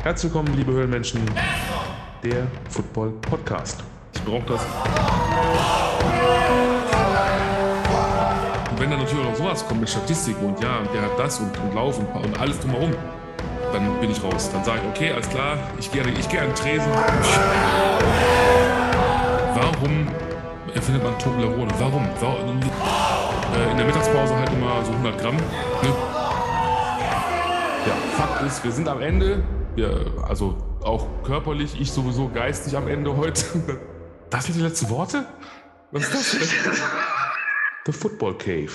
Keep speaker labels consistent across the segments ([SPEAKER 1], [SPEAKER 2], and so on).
[SPEAKER 1] Herzlich willkommen, liebe Höhlenmenschen, der Football Podcast. Ich brauche das. Und wenn dann natürlich auch noch sowas kommt mit Statistiken und ja, der hat das und Lauf und alles drumherum, dann bin ich raus. Dann sage ich, okay, alles klar, ich gehe an den Tresen. Warum erfindet man Toblerone? Warum? In der Mittagspause halt immer so 100 Gramm. Ne? Ja, Fakt ist, wir sind am Ende. Ja, also auch körperlich, ich sowieso geistig am Ende heute. Das sind die letzten Worte? Was ist das denn? The Football Cave.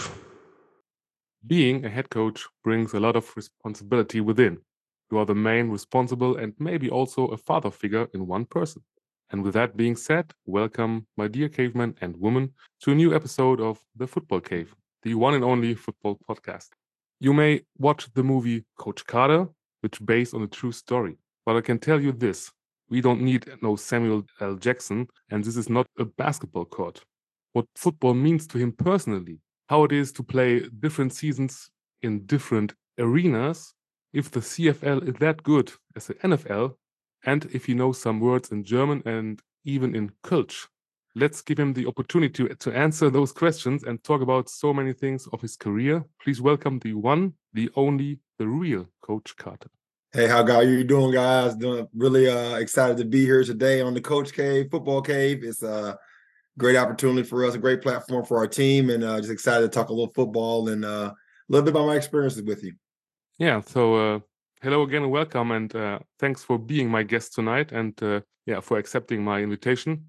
[SPEAKER 1] Being a head coach brings a lot of responsibility within. You are the main responsible and maybe also a father figure in one person. And with that being said, welcome, my dear cavemen and women, to a new episode of The Football Cave, the one and only football podcast. You may watch the movie Coach Carter, which is based on a true story. But I can tell you this, we don't need no Samuel L. Jackson, and this is not a basketball court. What football means to him personally, how it is to play different seasons in different arenas, if the CFL is that good as the NFL, and if he knows some words in German and even in Kölsch. Let's give him the opportunity to answer those questions and talk about so many things of his career. Please welcome the one, the only, the real Coach Carter.
[SPEAKER 2] Hey, how you doing, guys? Doing really excited to be here today on the Coach Cave, Football Cave. It's a great opportunity for us, a great platform for our team, and just excited to talk a little football and a little bit about my experiences with you.
[SPEAKER 1] Yeah, so hello again and welcome, and thanks for being my guest tonight and for accepting my invitation.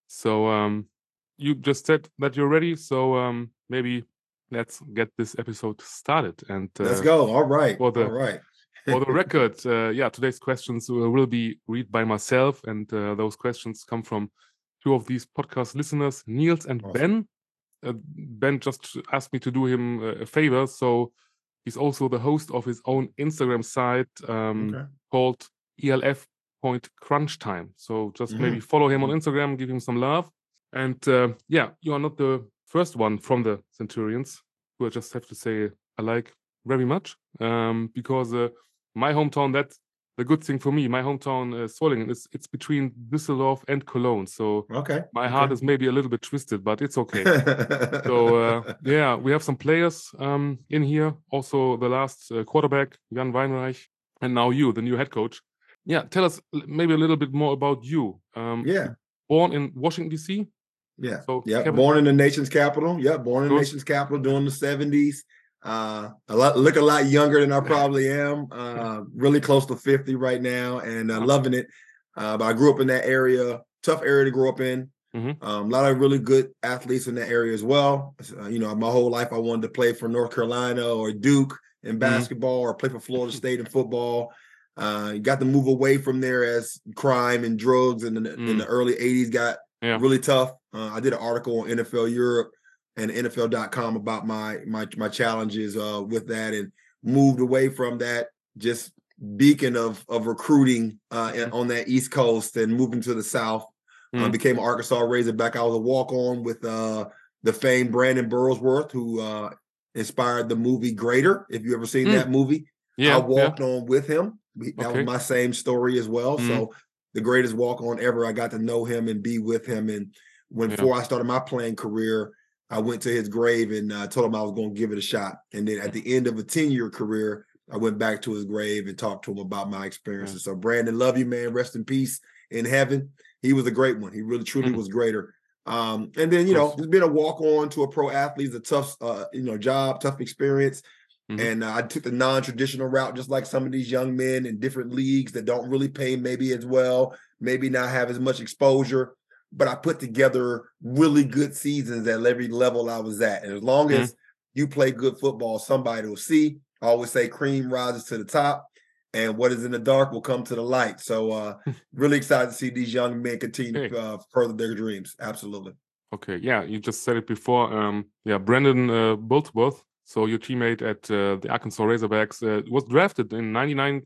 [SPEAKER 1] So you just said that you're ready, so maybe let's get this episode started. And
[SPEAKER 2] let's go. All right.
[SPEAKER 1] For the record, today's questions will be read by myself, and those questions come from two of these podcast listeners, Niels and awesome. Ben. Ben just asked me to do him a favor, so he's also the host of his own Instagram site called ELF.CrunchTime. So just maybe follow him on Instagram, give him some love. And you are not the first one from the Centurions, who I just have to say I like very much, because my hometown, that's the good thing for me. My hometown, Solingen, it's between Düsseldorf and Cologne. So my heart is maybe a little bit twisted, but it's okay. So we have some players in here. Also the last quarterback, Jan Weinreich, and now you, the new head coach. Yeah, tell us maybe a little bit more about you. Born in Washington, D.C.?
[SPEAKER 2] Yeah, so, born in the nation's capital. Yeah, born in the nation's capital during the 70s. Look a lot younger than I probably am. Really close to 50 right now, and loving it. But I grew up in that area, tough area to grow up in. A lot of really good athletes in that area as well. My whole life I wanted to play for North Carolina or Duke in basketball or play for Florida State in football. Got to move away from there as crime and drugs in the early 80s got really tough. I did an article on NFL Europe and NFL.com about my challenges with that, and moved away from that just beacon of recruiting on that East Coast and moving to the South. Became an Arkansas Razorback. I was a walk-on with the famed Brandon Burlsworth, who inspired the movie Greater. If you ever seen that movie, I walked on with him. That was my same story as well. So the greatest walk-on ever. I got to know him and be with him. And before I started my playing career, I went to his grave and told him I was going to give it a shot. And then at the end of a 10-year career, I went back to his grave and talked to him about my experiences. So Brandon, love you, man. Rest in peace in heaven. He was a great one. He really, truly was greater. And then, just being a walk-on to a pro athlete is a tough, job, tough experience. And I took the non-traditional route, just like some of these young men in different leagues that don't really pay maybe as well, maybe not have as much exposure. But I put together really good seasons at every level I was at. And as long as you play good football, somebody will see. I always say cream rises to the top, and what is in the dark will come to the light. So really excited to see these young men continue to further their dreams. Absolutely.
[SPEAKER 1] Okay, you just said it before. Brandon Burlsworth, so your teammate at the Arkansas Razorbacks, was drafted in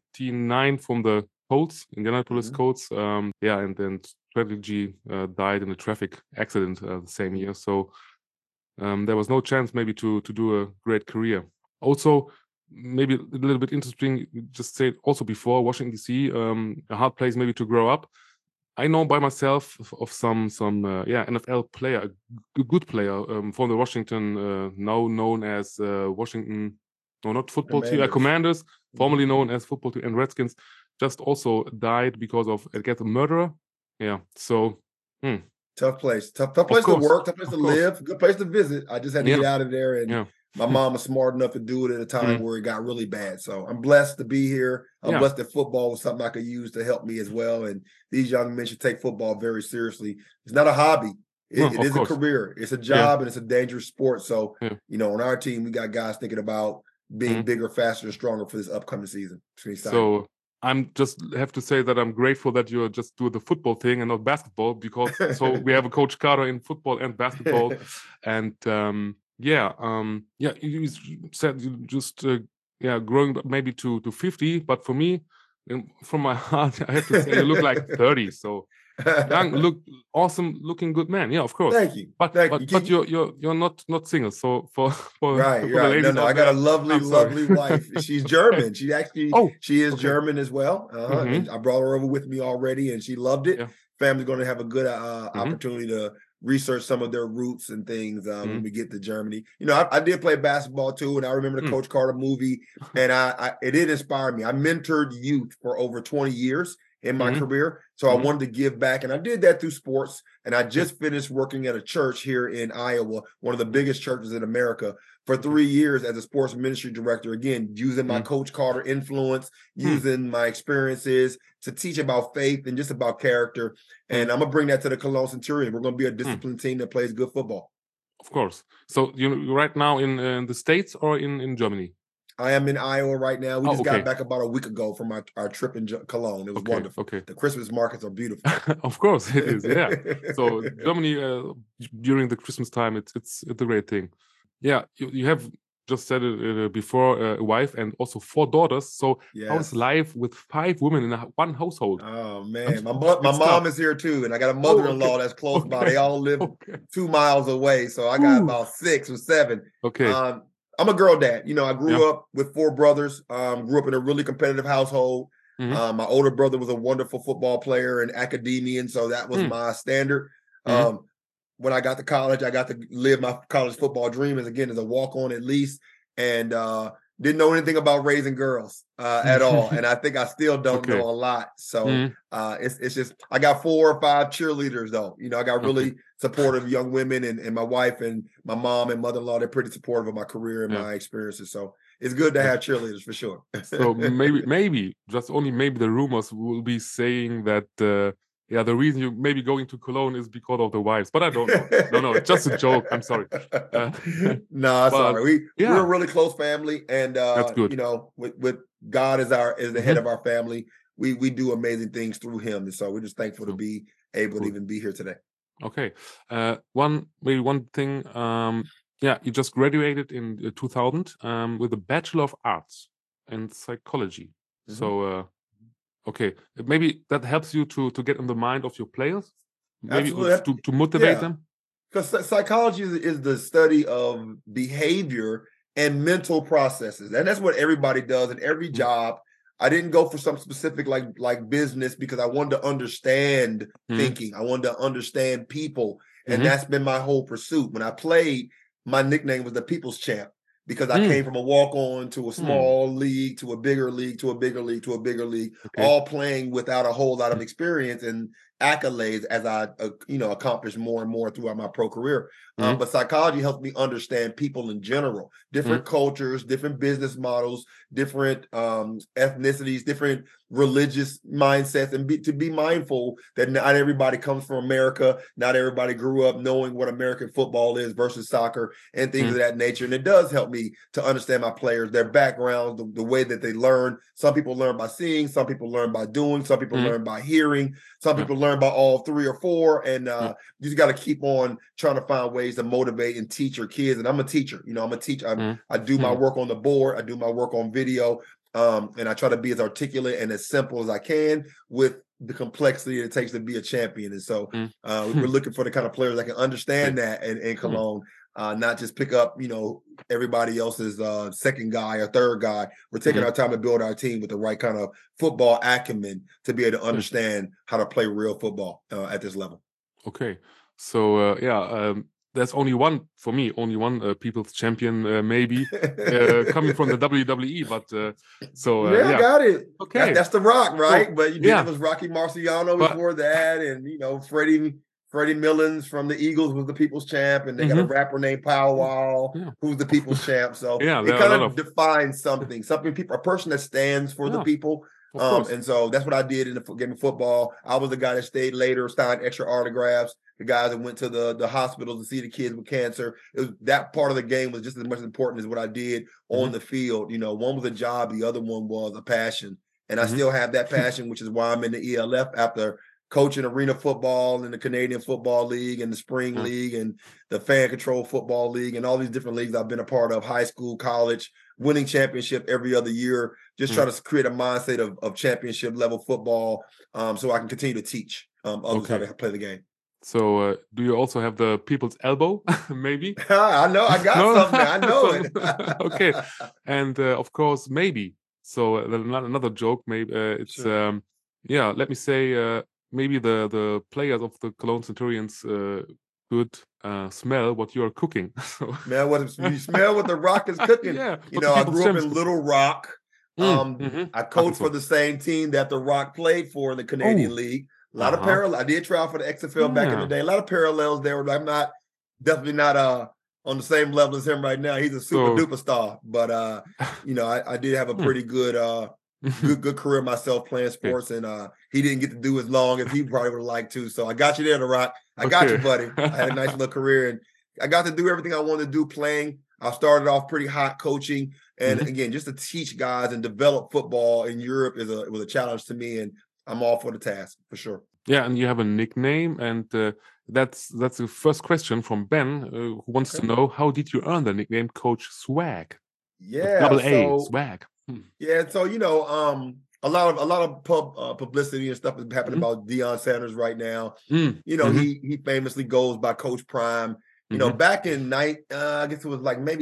[SPEAKER 1] 1999 from the Colts, Indianapolis Colts. And then Strategy died in a traffic accident the same year. So there was no chance maybe to do a great career. Also, maybe a little bit interesting, you just said also before, Washington DC, a hard place maybe to grow up. I know by myself of some NFL player, a good player from the Washington, now known as Washington, no, not football team, Commanders, formerly known as football team, and Redskins, just also died because of, I guess, a murderer. Yeah, so
[SPEAKER 2] tough place to work, tough place to live, good place to visit. I just had to get out of there, and my mom was smart enough to do it at a time where it got really bad. So I'm blessed to be here. I'm blessed that football was something I could use to help me as well. And these young men should take football very seriously. It's not a hobby. It is a career. It's a job, and it's a dangerous sport. So, on our team, we got guys thinking about being bigger, faster, and stronger for this upcoming season. So
[SPEAKER 1] I'm just have to say that I'm grateful that you just do the football thing and not basketball, because so we have a Coach Carter in football and basketball. And you said you just growing maybe to 50, but for me, from my heart, I have to say you look like 30. So young, look awesome, looking good man. Yeah, of course.
[SPEAKER 2] Thank you.
[SPEAKER 1] But you're not single. So for
[SPEAKER 2] right.
[SPEAKER 1] The ladies
[SPEAKER 2] no, I got a lovely wife. She's German. She actually she is German as well. And I brought her over with me already, and she loved it. Yeah. Family's going to have a good opportunity to research some of their roots and things when we get to Germany. I did play basketball too, and I remember the Coach Carter movie, and it did inspire me. I mentored youth for over 20 years in my career. So I wanted to give back, and I did that through sports. And I just finished working at a church here in Iowa, one of the biggest churches in America, for 3 years as a sports ministry director, again, using my Coach Carter influence, using my experiences to teach about faith and just about character. And I'm going to bring that to the Cologne Centurion. We're going to be a disciplined team that plays good football.
[SPEAKER 1] Of course. So you're right now in the States or in Germany?
[SPEAKER 2] I am in Iowa right now. We just got back about a week ago from our trip in Cologne. It was wonderful. Okay. The Christmas markets are beautiful.
[SPEAKER 1] Of course it is, yeah. So Germany, during the Christmas time, it's a great thing. Yeah, you have just said it before, a wife and also 4 daughters. So how's life with 5 women in one household?
[SPEAKER 2] Oh, man. My mom is here too, and I got a mother-in-law that's close by. They all live 2 miles away, so I got about 6 or 7.
[SPEAKER 1] Okay.
[SPEAKER 2] I'm a girl dad. I grew up with 4 brothers, grew up in a really competitive household. My older brother was a wonderful football player and academician, so that was my standard. When I got to college, I got to live my college football dream as a walk-on at least, and didn't know anything about raising girls at all. And I think I still don't know a lot. So it's just, I got 4 or 5 cheerleaders though. I got really supportive young women, and my wife and my mom and mother-in-law, they're pretty supportive of my career and my experiences. So it's good to have cheerleaders for sure.
[SPEAKER 1] So maybe just only maybe the rumors will be saying that the reason you may be going to Cologne is because of the wives, but I don't know. No, it's just a joke. I'm sorry.
[SPEAKER 2] No, sorry. We're a really close family, and
[SPEAKER 1] that's good.
[SPEAKER 2] With God as the head of our family, we do amazing things through Him, and so we're just thankful to be able to even be here today.
[SPEAKER 1] Okay, one thing. You just graduated in 2000 with a Bachelor of Arts in Psychology. So. Okay, maybe that helps you to get in the mind of your players, maybe to motivate them.
[SPEAKER 2] Because psychology is the study of behavior and mental processes, and that's what everybody does in every job. I didn't go for some specific like business because I wanted to understand thinking. I wanted to understand people, and that's been my whole pursuit. When I played, my nickname was the People's Champ, because I came from a walk-on to a small league, to a bigger league, to a bigger league, to a bigger league, all playing without a whole lot of experience and accolades as I, accomplished more and more throughout my pro career. But psychology helps me understand people in general, different cultures, different business models, different ethnicities, different religious mindsets, and to be mindful that not everybody comes from America. Not everybody grew up knowing what American football is versus soccer and things of that nature. And it does help me to understand my players, their backgrounds, the way that they learn. Some people learn by seeing, some people learn by doing, some people learn by hearing, some people learn by all 3 or 4. And you just got to keep on trying to find ways to motivate and teach your kids. And I'm a teacher. I'm a teacher. I do my work on the board. I do my work on video. And I try to be as articulate and as simple as I can with the complexity it takes to be a champion. And so we're looking for the kind of players that can understand that in Cologne. not just pick up, everybody else's second guy or third guy. We're taking our time to build our team with the right kind of football acumen to be able to understand how to play real football at this level.
[SPEAKER 1] Okay. So, there's only one people's champion, maybe, coming from the WWE. But
[SPEAKER 2] I got it. Okay, that's The Rock, right?
[SPEAKER 1] So,
[SPEAKER 2] but it was Rocky Marciano before that, and Freddie Millens from the Eagles was the people's champ, and they got a rapper named Pow Wow who's the people's champ. So it kind of defines something, a person that stands for the people. And so that's what I did in the game of football. I was the guy that stayed later, signed extra autographs. The guys that went to the hospitals to see the kids with cancer. That part of the game was just as much important as what I did on the field. One was a job, the other one was a passion. And I still have that passion, which is why I'm in the ELF after coaching arena football in the Canadian Football League and the Spring League and the Fan Control Football League and all these different leagues I've been a part of, high school, college, winning championship every other year, just trying to create a mindset of championship level football so I can continue to teach others how to play the game.
[SPEAKER 1] So do you also have the people's elbow, maybe?
[SPEAKER 2] I know, I got something. I know it.
[SPEAKER 1] Okay. And of course, maybe. So another joke, maybe it's, let me say, maybe the players of the Cologne Centurions could smell what you are cooking.
[SPEAKER 2] Man, you smell what The Rock is cooking. I grew up in Little Rock. I coached for the same team that The Rock played for in the Canadian League. A lot of parallels. I did try out for the XFL back in the day. A lot of parallels there. I'm definitely not on the same level as him right now. He's a super duper star. But I did have a pretty good good career myself playing sports, and he didn't get to do as long as he probably would have liked to. So I got you there, The Rock. I got you, buddy. I had a nice little career, and I got to do everything I wanted to do playing. I started off pretty hot coaching, and again, just to teach guys and develop football in Europe was a challenge to me, and I'm all for the task for sure.
[SPEAKER 1] Yeah, and you have a nickname, and that's the first question from Ben, who wants to know, how did you earn the nickname Coach Swag?
[SPEAKER 2] Yeah,
[SPEAKER 1] double A, Swag.
[SPEAKER 2] Yeah, so a lot of publicity and stuff is happening about Deion Sanders right now. He famously goes by Coach Prime. Back in I guess it was like maybe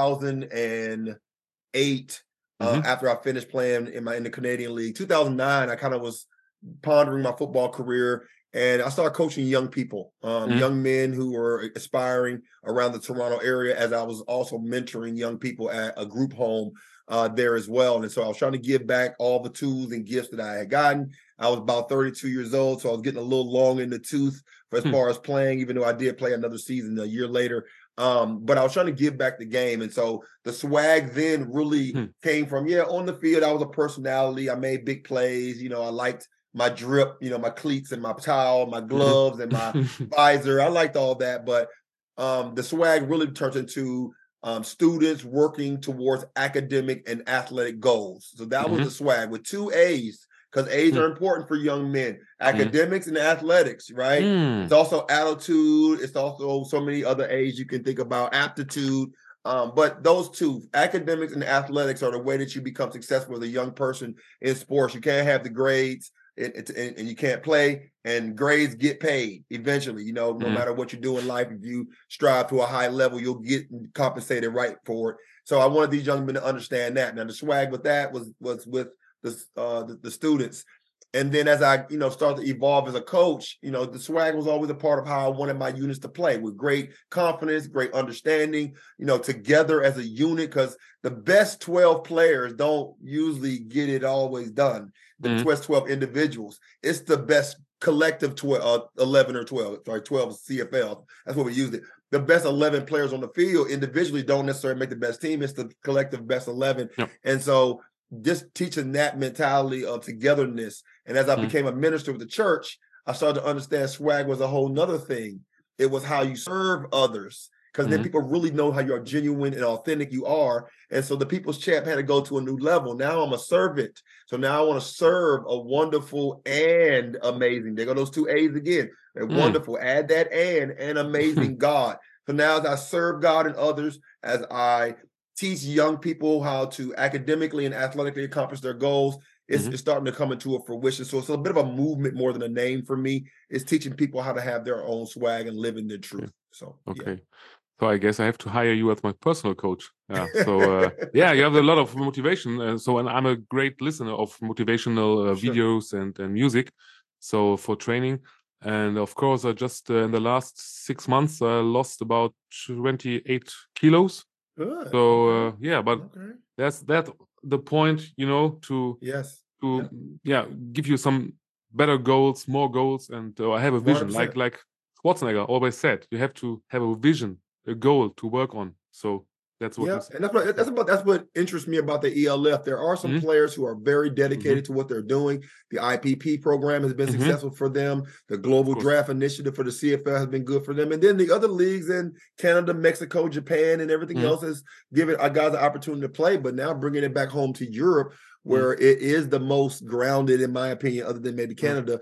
[SPEAKER 2] 2008. After I finished playing in the Canadian League, 2009, I kind of was pondering my football career, and I started coaching young people, young men who were aspiring around the Toronto area, as I was also mentoring young people at a group home there as well. And so I was trying to give back all the tools and gifts that I had gotten. I was about 32 years old, so I was getting a little long in the tooth as far as playing, even though I did play another season a year later. But I was trying to give back the game. And so the swag then really came from, on the field, I was a personality. I made big plays. I liked my drip, my cleats and my towel, my gloves and my visor. I liked all that. But the swag really turns into students working towards academic and athletic goals. So that was the swag with 2 A's, because A's are important for young men. Academics and athletics, right? It's also attitude. It's also so many other A's you can think about, aptitude. But those two, academics and athletics, are the way that you become successful as a young person in sports. You can't have the grades and you can't play, and grades get paid eventually. No matter what you do in life, if you strive to a high level, you'll get compensated right for it. So I wanted these young men to understand that. Now the swag with that was with the students. And then as I, started to evolve as a coach, the swag was always a part of how I wanted my units to play, with great confidence, great understanding, together as a unit, because the best 12 players don't usually get it always done. The best 12 individuals. It's the best collective 11 or 12, sorry, 12 CFL. That's what we used it. The best 11 players on the field individually don't necessarily make the best team. It's the collective best 11. Yep. And so just teaching that mentality of togetherness. And as I became a minister with the church, I started to understand swag was a whole nother thing. It was how you serve others, because then people really know how you're genuine and authentic you are. And so the people's champ had to go to a new level. Now I'm a servant. So now I want to serve a wonderful and amazing. There go those 2 A's again. They're wonderful. Add that and amazing God. So now as I serve God and others, as I teach young people how to academically and athletically accomplish their goals, it's starting to come into a fruition. So it's a bit of a movement more than a name for me. It's teaching people how to have their own swag and live in their truth. So
[SPEAKER 1] okay. So I guess I have to hire you as my personal coach. Yeah. So yeah, you have a lot of motivation. And I'm a great listener of motivational videos and music. So for training, and of course, I just in the last 6 months I lost about 28 kilos.
[SPEAKER 2] Good.
[SPEAKER 1] So yeah, but that's the point, to give you some better goals, more goals, and I have a vision.
[SPEAKER 2] 100%.
[SPEAKER 1] Like Schwarzenegger always said, you have to have a vision, a goal to work on. So that's what.
[SPEAKER 2] Yeah, and that's what interests me about the ELF. There are some players who are very dedicated to what they're doing. The IPP program has been successful for them. The Global Draft Initiative for the CFL has been good for them. And then the other leagues in Canada, Mexico, Japan, and everything else has given our guys the opportunity to play. But now bringing it back home to Europe, where it is the most grounded, in my opinion, other than maybe Canada.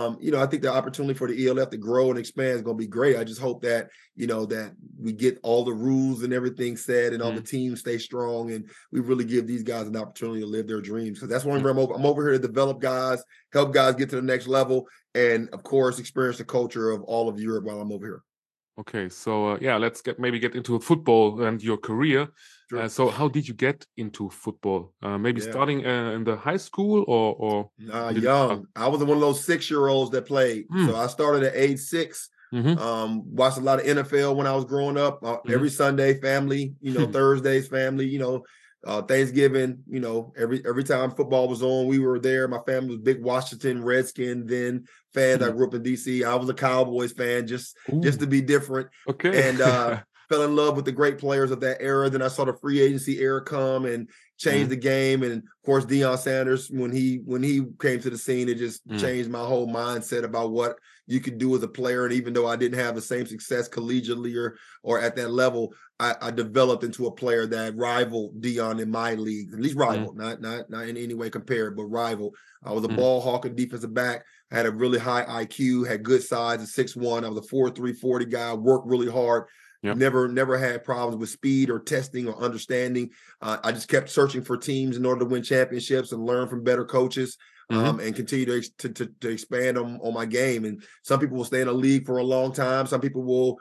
[SPEAKER 2] I think the opportunity for the ELF to grow and expand is going to be great. I just hope that, that we get all the rules and everything set and all the teams stay strong and we really give these guys an opportunity to live their dreams. Because that's one where I'm over here to develop guys, help guys get to the next level, and of course, experience the culture of all of Europe while I'm over here.
[SPEAKER 1] Okay, so let's get into football and your career. Sure. So how did you get into football? Maybe starting in the high school or
[SPEAKER 2] young. I was one of those 6-year-olds that played. So I started at age 6. Watched a lot of NFL when I was growing up. Every Sunday, family. Thursdays, family. Thanksgiving. Every time football was on, we were there. My family was big Washington Redskin then fans. I grew up in DC. I was a Cowboys fan, just to be different.
[SPEAKER 1] Okay.
[SPEAKER 2] And fell in love with the great players of that era. Then I saw the free agency era come and change the game. And of course, Deion Sanders, when he came to the scene, it just changed my whole mindset about what you could do as a player. And even though I didn't have the same success collegiately or at that level, I developed into a player that rivaled Deion in my league, at least rival, not in any way compared, but rival. I was a ball hawk and defensive back. I had a really high IQ, had good size at 6'1". I was a 4'3", 40 guy, worked really hard. Yep. Never had problems with speed or testing or understanding. I just kept searching for teams in order to win championships and learn from better coaches and continue to expand on my game. And some people will stay in a league for a long time. Some people will,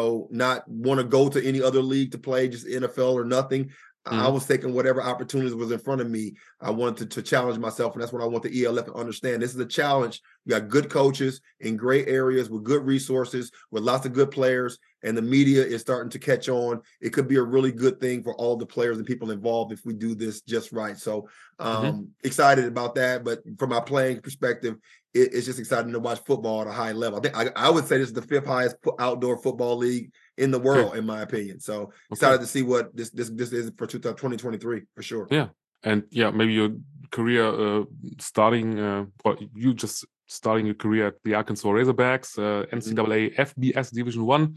[SPEAKER 2] not want to go to any other league to play, just NFL or nothing. I was taking whatever opportunities was in front of me. I wanted to challenge myself, and that's what I want the ELF to understand. This is a challenge. You got good coaches in great areas with good resources, with lots of good players, and the media is starting to catch on. It could be a really good thing for all the players and people involved if we do this just right. So excited about that. But from my playing perspective, it's just exciting to watch football at a high level. I think I would say this is the 5th highest outdoor football league in the world, in my opinion. So excited to see what this is for 2023 for sure.
[SPEAKER 1] Yeah. And maybe your career starting, you just starting your career at the Arkansas Razorbacks, NCAA FBS Division 1,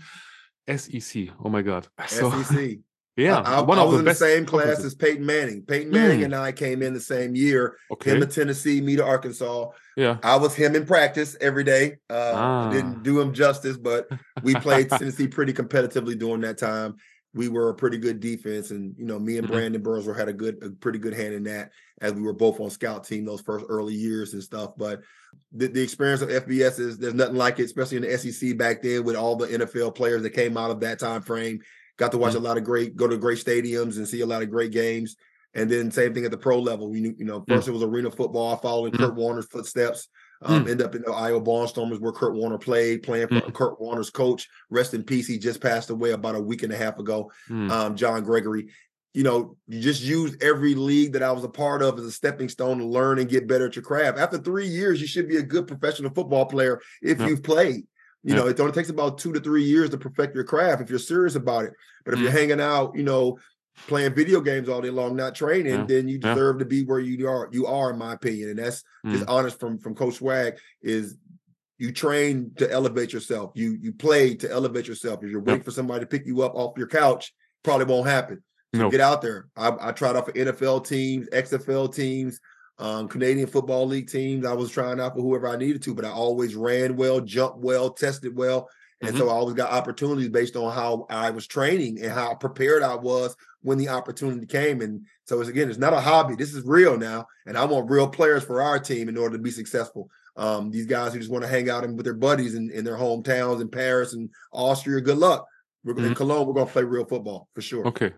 [SPEAKER 1] SEC. Oh my God.
[SPEAKER 2] SEC.
[SPEAKER 1] Yeah,
[SPEAKER 2] I was in the same class as Peyton Manning. Peyton Manning and I came in the same year. Him to Tennessee, me to Arkansas.
[SPEAKER 1] Yeah,
[SPEAKER 2] I was him in practice every day. I didn't do him justice, but we played Tennessee pretty competitively during that time. We were a pretty good defense, and me and Brandon Burnsville had a pretty good hand in that, as we were both on scout team those first early years and stuff. But the experience of FBS there's nothing like it, especially in the SEC back then with all the NFL players that came out of that time frame. Got to watch a lot of go to great stadiums and see a lot of great games. And then same thing at the pro level. First it was arena football. I followed in Kurt Warner's footsteps. End up in the Iowa Barnstormers where Kurt Warner played, playing for Kurt Warner's coach. Rest in peace. He just passed away about a week and a half ago. John Gregory. You just used every league that I was a part of as a stepping stone to learn and get better at your craft. After 3 years, you should be a good professional football player if you've played. It only takes about 2 to 3 years to perfect your craft if you're serious about it. But if you're hanging out, playing video games all day long, not training, then you deserve to be where you are, in my opinion. And that's just honest from Coach Swag is you train to elevate yourself. You play to elevate yourself. If you're waiting for somebody to pick you up off your couch, probably won't happen. So get out there. I tried out for NFL teams, XFL teams, Canadian Football League teams. I was trying out for whoever I needed to, but I always ran well, jumped well, tested well. And so I always got opportunities based on how I was training and how prepared I was when the opportunity came. And so it's not a hobby. This is real now. And I want real players for our team in order to be successful. These guys who just want to hang out with their buddies in their hometowns in Paris and Austria, good luck. In Cologne, we're going to play real football for sure.
[SPEAKER 1] Okay.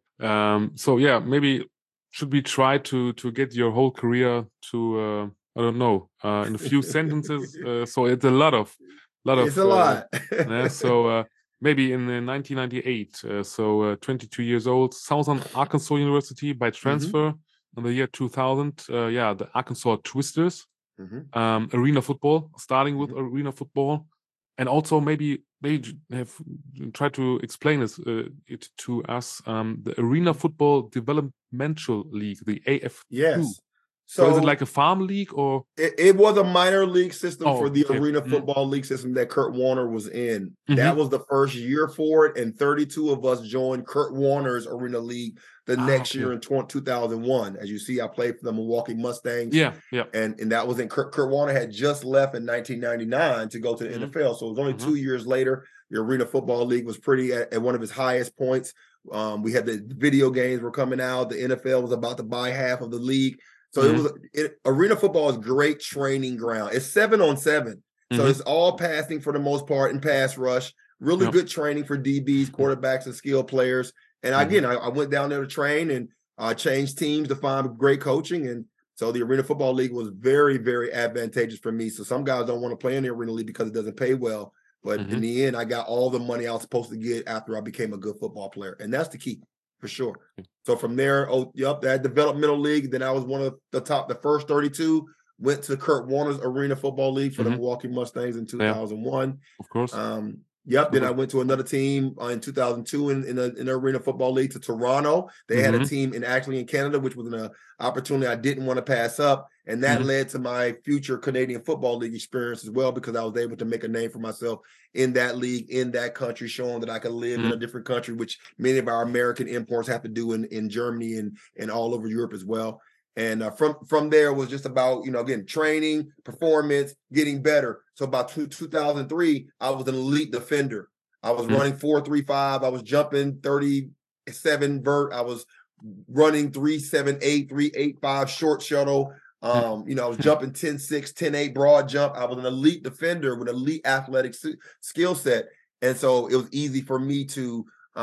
[SPEAKER 1] So yeah, maybe should we try to get your whole career to I don't know in a few sentences? So it's a lot of.
[SPEAKER 2] It's a lot.
[SPEAKER 1] Yeah, so maybe in 1998, 22 years old, Southern Arkansas University by transfer in the year 2000. The Arkansas Twisters, arena football, starting with arena football, and also maybe they have tried to explain it to us. The Arena Football Developmental League, the AF2.
[SPEAKER 2] Yes.
[SPEAKER 1] So is it like a farm league or?
[SPEAKER 2] It was a minor league system for the Arena Football League system that Kurt Warner was in. That was the first year for it, and 32 of us joined Kurt Warner's Arena League the next year in 2001. As you see, I played for the Milwaukee Mustangs.
[SPEAKER 1] Yeah.
[SPEAKER 2] And that was in Kurt Warner had just left in 1999 to go to the NFL. So it was only 2 years later. The Arena Football League was pretty at one of its highest points. We had the video games were coming out. The NFL was about to buy half of the league. So arena football is great training ground. It's 7-on-7. So it's all passing for the most part and pass rush. Really good training for DBs, quarterbacks, and skill players. And again, I went down there to train and changed teams to find great coaching. And so the Arena Football League was very, very advantageous for me. So some guys don't want to play in the Arena League because it doesn't pay well. But in the end, I got all the money I was supposed to get after I became a good football player. And that's the key. For sure. So from there, that developmental league. Then I was one of the first 32. Went to Kurt Warner's Arena Football League for the Milwaukee Mustangs in 2001.
[SPEAKER 1] Of course.
[SPEAKER 2] Then I went to another team in 2002 in the Arena Football League to Toronto. They had a team in Canada, which was an opportunity I didn't want to pass up. And that led to my future Canadian Football League experience as well, because I was able to make a name for myself in that league, in that country, showing that I could live in a different country, which many of our American imports have to do in Germany and all over Europe as well. And from there was just about, again, training, performance, getting better. So about 2003, I was an elite defender. I was running 4.35. I was jumping 37 vert. I was running 3.78, 3.85 short shuttle. I was jumping 10.6, 10.8 broad jump. I was an elite defender with elite athletic skill set. And so it was easy for me to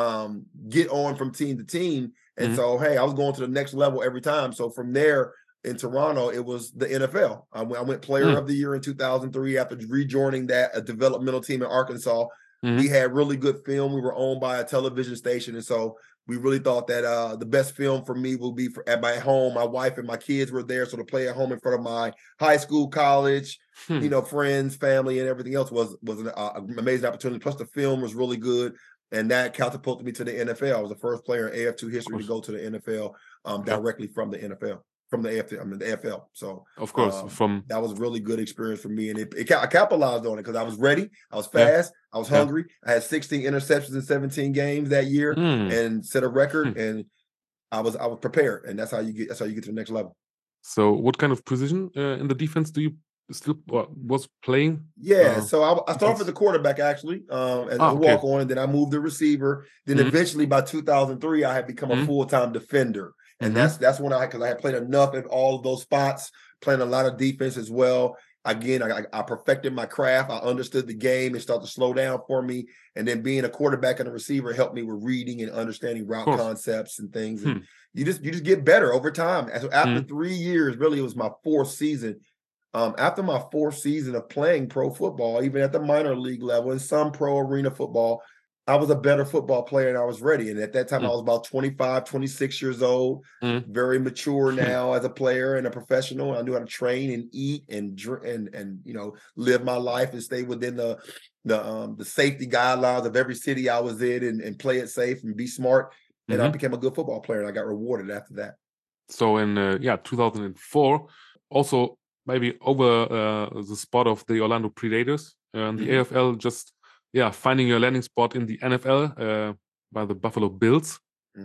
[SPEAKER 2] get on from team to team. And so, hey, I was going to the next level every time. So from there in Toronto, it was the NFL. I went player of the year in 2003 after rejoining a developmental team in Arkansas. We had really good film. We were owned by a television station. And so we really thought that the best film for me will be at my home. My wife and my kids were there. So to play at home in front of my high school, college, friends, family, and everything else was an amazing opportunity. Plus the film was really good. And that catapulted me to the NFL. I was the first player in AF2 history to go to the NFL directly from the NFL, from the AFL. So,
[SPEAKER 1] of course,
[SPEAKER 2] that was a really good experience for me. And I capitalized on it because I was ready. I was fast. I was hungry. I had 16 interceptions in 17 games that year and set a record. And I was prepared. And that's how you get to the next level.
[SPEAKER 1] So what kind of position in the defense do you still was playing?
[SPEAKER 2] So I started with the quarterback actually as a walk on, and then I moved to receiver. Then eventually by 2003 I had become a full-time defender, and that's when because I had played enough at all of those spots, playing a lot of defense as well. Again, I perfected my craft. I understood the game. It started to slow down for me, and then being a quarterback and a receiver helped me with reading and understanding route concepts and things. And you just get better over time. After 3 years, really, it was my fourth season. After my fourth season of playing pro football, even at the minor league level and some pro arena football, I was a better football player and I was ready. And at that time, I was about 25, 26 years old, very mature now as a player and a professional. I knew how to train and eat and live my life and stay within the safety guidelines of every city I was in and play it safe and be smart. And I became a good football player and I got rewarded after that.
[SPEAKER 1] So in 2004, also maybe over the spot of the Orlando Predators and the AFL, just finding your landing spot in the NFL by the Buffalo Bills.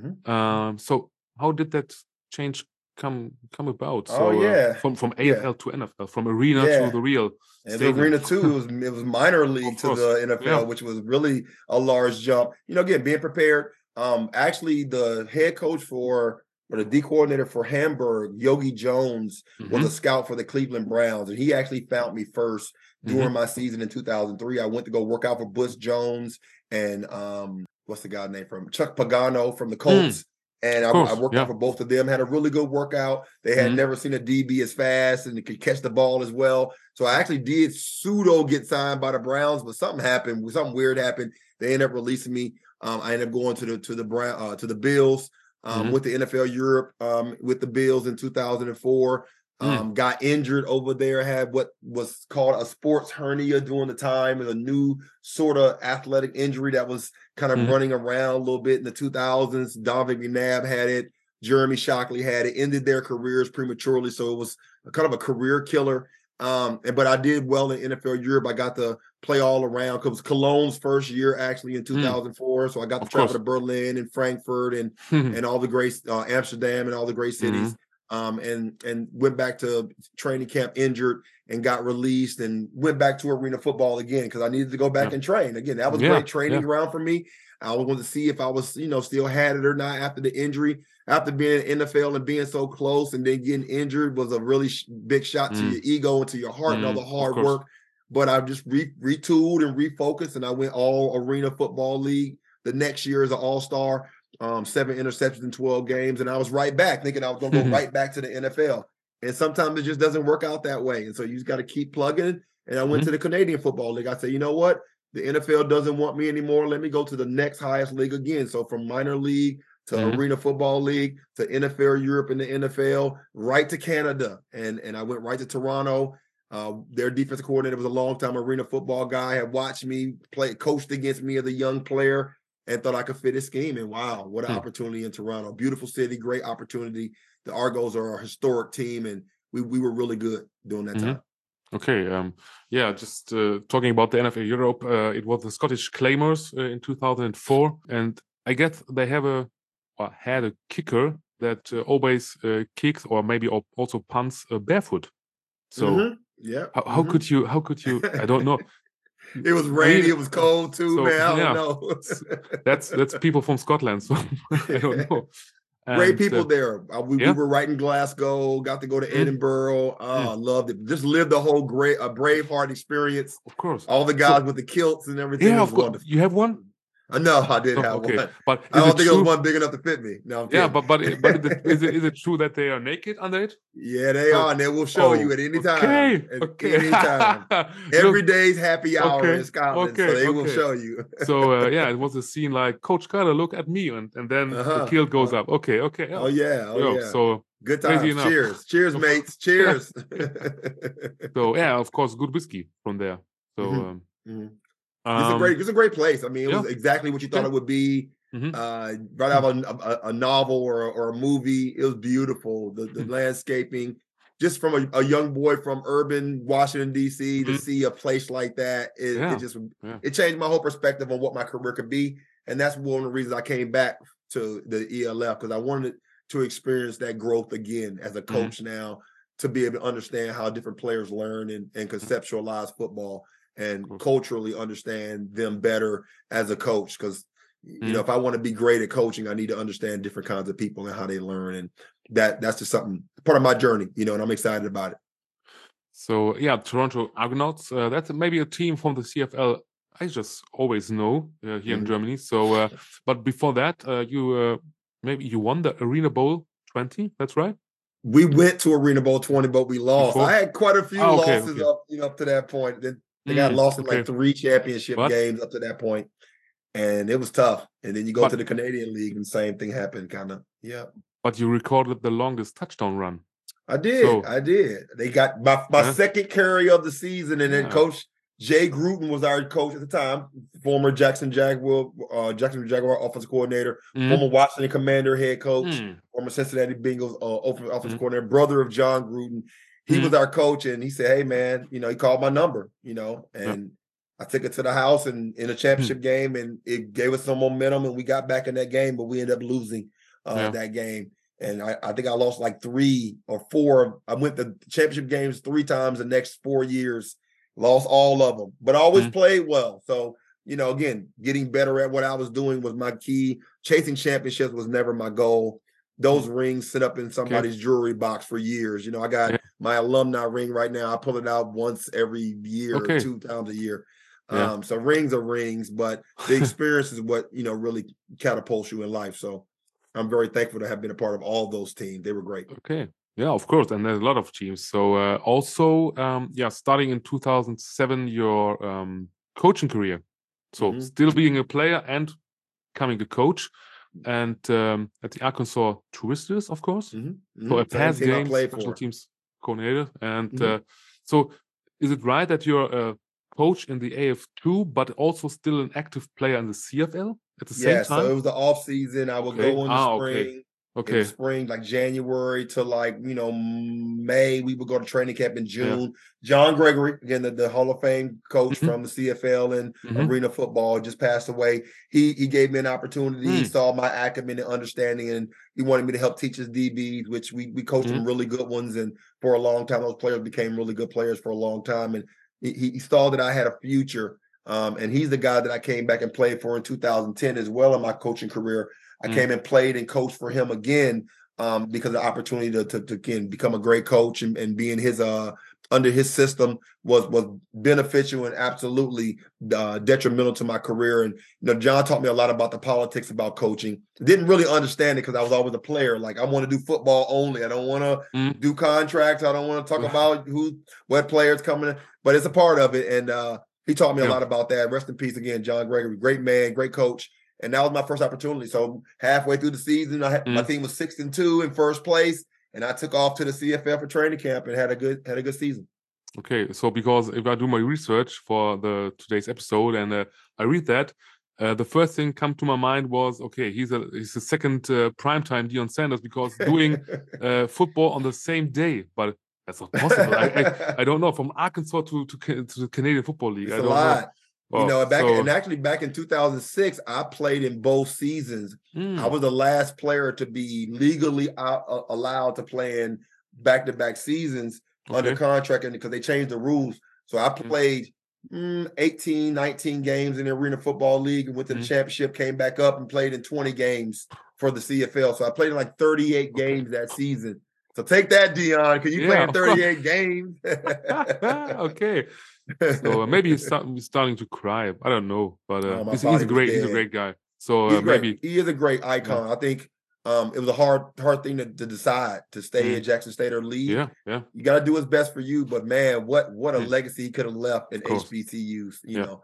[SPEAKER 1] So how did that change come about? So from AFL to NFL, from arena to the real
[SPEAKER 2] stadium. The arena too, it was minor league to the NFL, which was really a large jump. Again, being prepared. Actually, the head coach for but the D coordinator for Hamburg, Yogi Jones, was a scout for the Cleveland Browns. And he actually found me first during my season in 2003. I went to go work out for Butch Jones and what's the guy's name from Chuck Pagano from the Colts. And I worked out for both of them, had a really good workout. They had never seen a DB as fast and could catch the ball as well. So I actually did pseudo get signed by the Browns, but something happened. Something weird happened. They ended up releasing me. I ended up going to the Bills with the NFL Europe with the Bills in 2004. Got injured over there, had what was called a sports hernia during the time, and a new sort of athletic injury that was kind of running around a little bit in the 2000s. Donovan McNabb had it. Jeremy Shockley had it. Ended their careers prematurely, so it was kind of a career killer. But I did well in NFL Europe. I got to play all around because it was Cologne's first year actually in 2004. So I got to travel to Berlin and Frankfurt and all the great Amsterdam and all the great cities. And went back to training camp injured and got released and went back to arena football again because I needed to go back and train. Again, that was great training ground for me. I wanted to see if I was, still had it or not after the injury. After being in NFL and being so close and then getting injured was a really big shot to your ego and to your heart and all the hard work. But I just retooled and refocused, and I went all arena football league the next year as an all-star. 7 interceptions in 12 games, and I was right back thinking I was going to go right back to the NFL. And sometimes it just doesn't work out that way. And so you just got to keep plugging. And I went to the Canadian Football League. I said, you know what? The NFL doesn't want me anymore. Let me go to the next highest league again. So from minor league to Arena Football League to NFL Europe and the NFL, right to Canada. And I went right to Toronto. Their defensive coordinator was a long-time arena football guy, had watched me play, coached against me as a young player, and thought I could fit his scheme. And wow, what an opportunity in Toronto. Beautiful city, great opportunity. The Argos are a historic team, and we were really good during that time.
[SPEAKER 1] Okay. Just talking about the NFL Europe, it was the Scottish Claymores in 2004. And I guess they had a kicker that always kicks or maybe also punts barefoot. So how could you, I don't know.
[SPEAKER 2] It was rainy. It was cold too, so, man. I don't know.
[SPEAKER 1] that's people from Scotland, so I don't know.
[SPEAKER 2] Great people there. We were right in Glasgow. Got to go to Edinburgh. Loved it. Just lived the whole Braveheart experience.
[SPEAKER 1] Of course,
[SPEAKER 2] all the guys with the kilts and everything.
[SPEAKER 1] Yeah, of course. You have one?
[SPEAKER 2] No, I didn't have one. But I don't think it was one big enough to fit me. No,
[SPEAKER 1] but is it true that they are naked under it?
[SPEAKER 2] Yeah, they are, and they will show you at any time. Any time. Every day's happy hour in Scotland, so they will show you.
[SPEAKER 1] So it was a scene like, Coach Carter, look at me, and then the kilt goes up. Okay.
[SPEAKER 2] Oh yeah.
[SPEAKER 1] So
[SPEAKER 2] good times. Cheers, mates. Cheers.
[SPEAKER 1] So of course, good whiskey from there. So.
[SPEAKER 2] It's a great place. I mean, it was exactly what you thought it would be. Right out of a novel or a movie. It was beautiful. The landscaping, just from a young boy from urban Washington D.C. to see a place like that, it changed my whole perspective on what my career could be. And that's one of the reasons I came back to the ELF, because I wanted to experience that growth again as a coach now, to be able to understand how different players learn and conceptualize football, and culturally understand them better as a coach. Because, if I want to be great at coaching, I need to understand different kinds of people and how they learn. And that's just something, part of my journey, and I'm excited about it.
[SPEAKER 1] So, Toronto Argonauts, that's maybe a team from the CFL I just always know here in Germany. So, but before that, you won the Arena Bowl 20, that's right?
[SPEAKER 2] We went to Arena Bowl 20, but we lost. I had quite a few losses up to that point. Then they got lost in like 3 championship games up to that point, and it was tough. And then you go to the Canadian League, and the same thing happened, kind of. Yeah.
[SPEAKER 1] But you recorded the longest touchdown run.
[SPEAKER 2] I did. They got my second carry of the season, and then Coach Jay Gruden was our coach at the time, former Jackson Jaguar offensive coordinator, former Washington Commander head coach, former Cincinnati Bengals offensive coordinator, brother of John Gruden. He was our coach, and he said, "Hey, man, he called my number, and I took it to the house and in a championship game, and it gave us some momentum, and we got back in that game, but we ended up losing that game. And I think I lost like 3 or 4. I went to championship games 3 times the next 4 years, lost all of them, but I always played well. So, again, getting better at what I was doing was my key. Chasing championships was never my goal. those rings sit up in somebody's jewelry box for years. You know, I got my alumni ring right now. I pull it out once every year, 2 times a year. So rings are rings, but the experience is what, you know, really catapults you in life. So I'm very thankful to have been a part of all those teams. They were great.
[SPEAKER 1] Okay. Yeah, of course. And there's a lot of teams. So also, starting in 2007, your coaching career. So still being a player and becoming a coach. And at the Arkansas Twisters, of course. So a past game special teams coordinator. And so is it right that you're a coach in the AF2, but also still an active player in the CFL at the same time?
[SPEAKER 2] So it was the off season. I would go in the spring. In the spring, like January to like, you know, May, we would go to training camp in June. John Gregory, again, the Hall of Fame coach from the CFL and arena football, just passed away. He gave me an opportunity. He saw my acumen and understanding, and he wanted me to help teach his DBs, which we coached some really good ones. And for a long time, those players became really good players for a long time. And he saw that I had a future. And he's the guy that I came back and played for in 2010 as well in my coaching career. I came and played and coached for him again because of the opportunity to again become a great coach and be in his under his system was beneficial and absolutely detrimental to my career. And you know, John taught me a lot about the politics about coaching. Didn't really understand it because I was always a player. Like, I want to do football only. I don't want to do contracts. I don't want to talk about what players coming in, but it's a part of it. And he taught me a lot about that. Rest in peace again, John Gregory. Great man, great coach. And that was my first opportunity. So halfway through the season, my team was 6-2 in first place, and I took off to the CFL for training camp and had a good season.
[SPEAKER 1] Okay, so because if I do my research for today's episode and I read that, the first thing come to my mind was, okay, he's the second primetime Deion Sanders because doing football on the same day, but that's not possible. I don't know, from Arkansas to the Canadian Football League.
[SPEAKER 2] It's a lot. You know, back in 2006, I played in both seasons. I was the last player to be legally allowed to play in back-to-back seasons under contract, and because they changed the rules. So I played 18, 19 games in the Arena Football League and went to the championship, came back up and played in 20 games for the CFL. So I played in like 38 games that season. So take that, Deion, because you played in 38 games.
[SPEAKER 1] Okay. So maybe he's starting to cry. I don't know, but he's a great guy. So maybe
[SPEAKER 2] he is a great icon. I think it was a hard thing to decide to stay at Jackson State or leave.
[SPEAKER 1] Yeah.
[SPEAKER 2] You got to do what's best for you. But man, what a legacy he could have left in HBCUs. You know.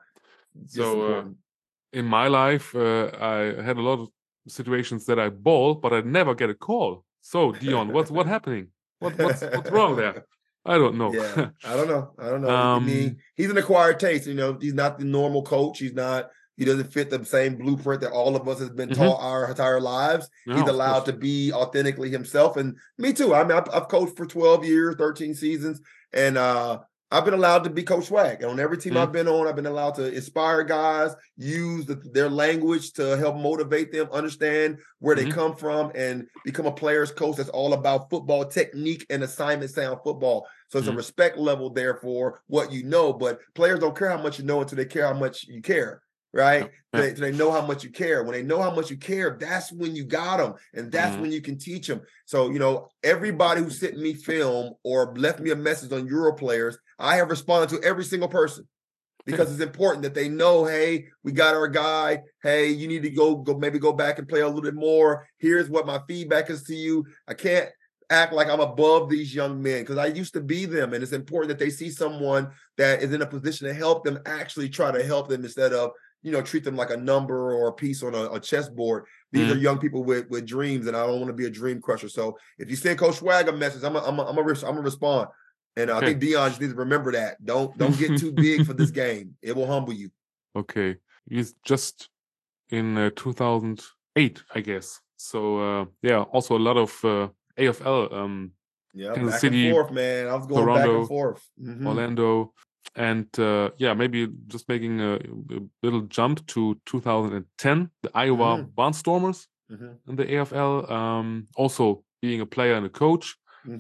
[SPEAKER 1] So in my life, I had a lot of situations that I ball, but I never get a call. So Deion, what's happening? What's wrong there? I don't know.
[SPEAKER 2] Yeah, I don't know. I mean, he's an acquired taste. You know, he's not the normal coach. He doesn't fit the same blueprint that all of us has been taught our entire lives. He's allowed to be authentically himself. And me too. I mean, I've coached for 12 years, 13 seasons. And I've been allowed to be Coach Swag. And on every team I've been on, I've been allowed to inspire guys, use their language to help motivate them, understand where they come from, and become a player's coach that's all about football technique and assignment sound football. So it's a respect level there for what you know, but players don't care how much you know until they care how much you care, right? They know how much you care. When they know how much you care, that's when you got them, and that's when you can teach them. So, you know, everybody who sent me film or left me a message on Euro Players, I have responded to every single person because it's important that they know, hey, we got our guy. Hey, you need to maybe go back and play a little bit more. Here's what my feedback is to you. I can't act like I'm above these young men because I used to be them, and it's important that they see someone that is in a position to help them actually try to help them instead of, you know, treat them like a number or a piece on a chessboard. These are young people with dreams, and I don't want to be a dream crusher. So if you send Coach Swag a message, I'm a respond. And I think Deion just needs to remember that. Don't get too big for this game. It will humble you.
[SPEAKER 1] Okay. He's just in 2008, I guess. So also a lot of AFL.
[SPEAKER 2] Back City, and forth, man. I was going Toronto, back and forth.
[SPEAKER 1] Orlando. And maybe just making a little jump to 2010, the Iowa Barnstormers in the AFL. Also being a player and a coach.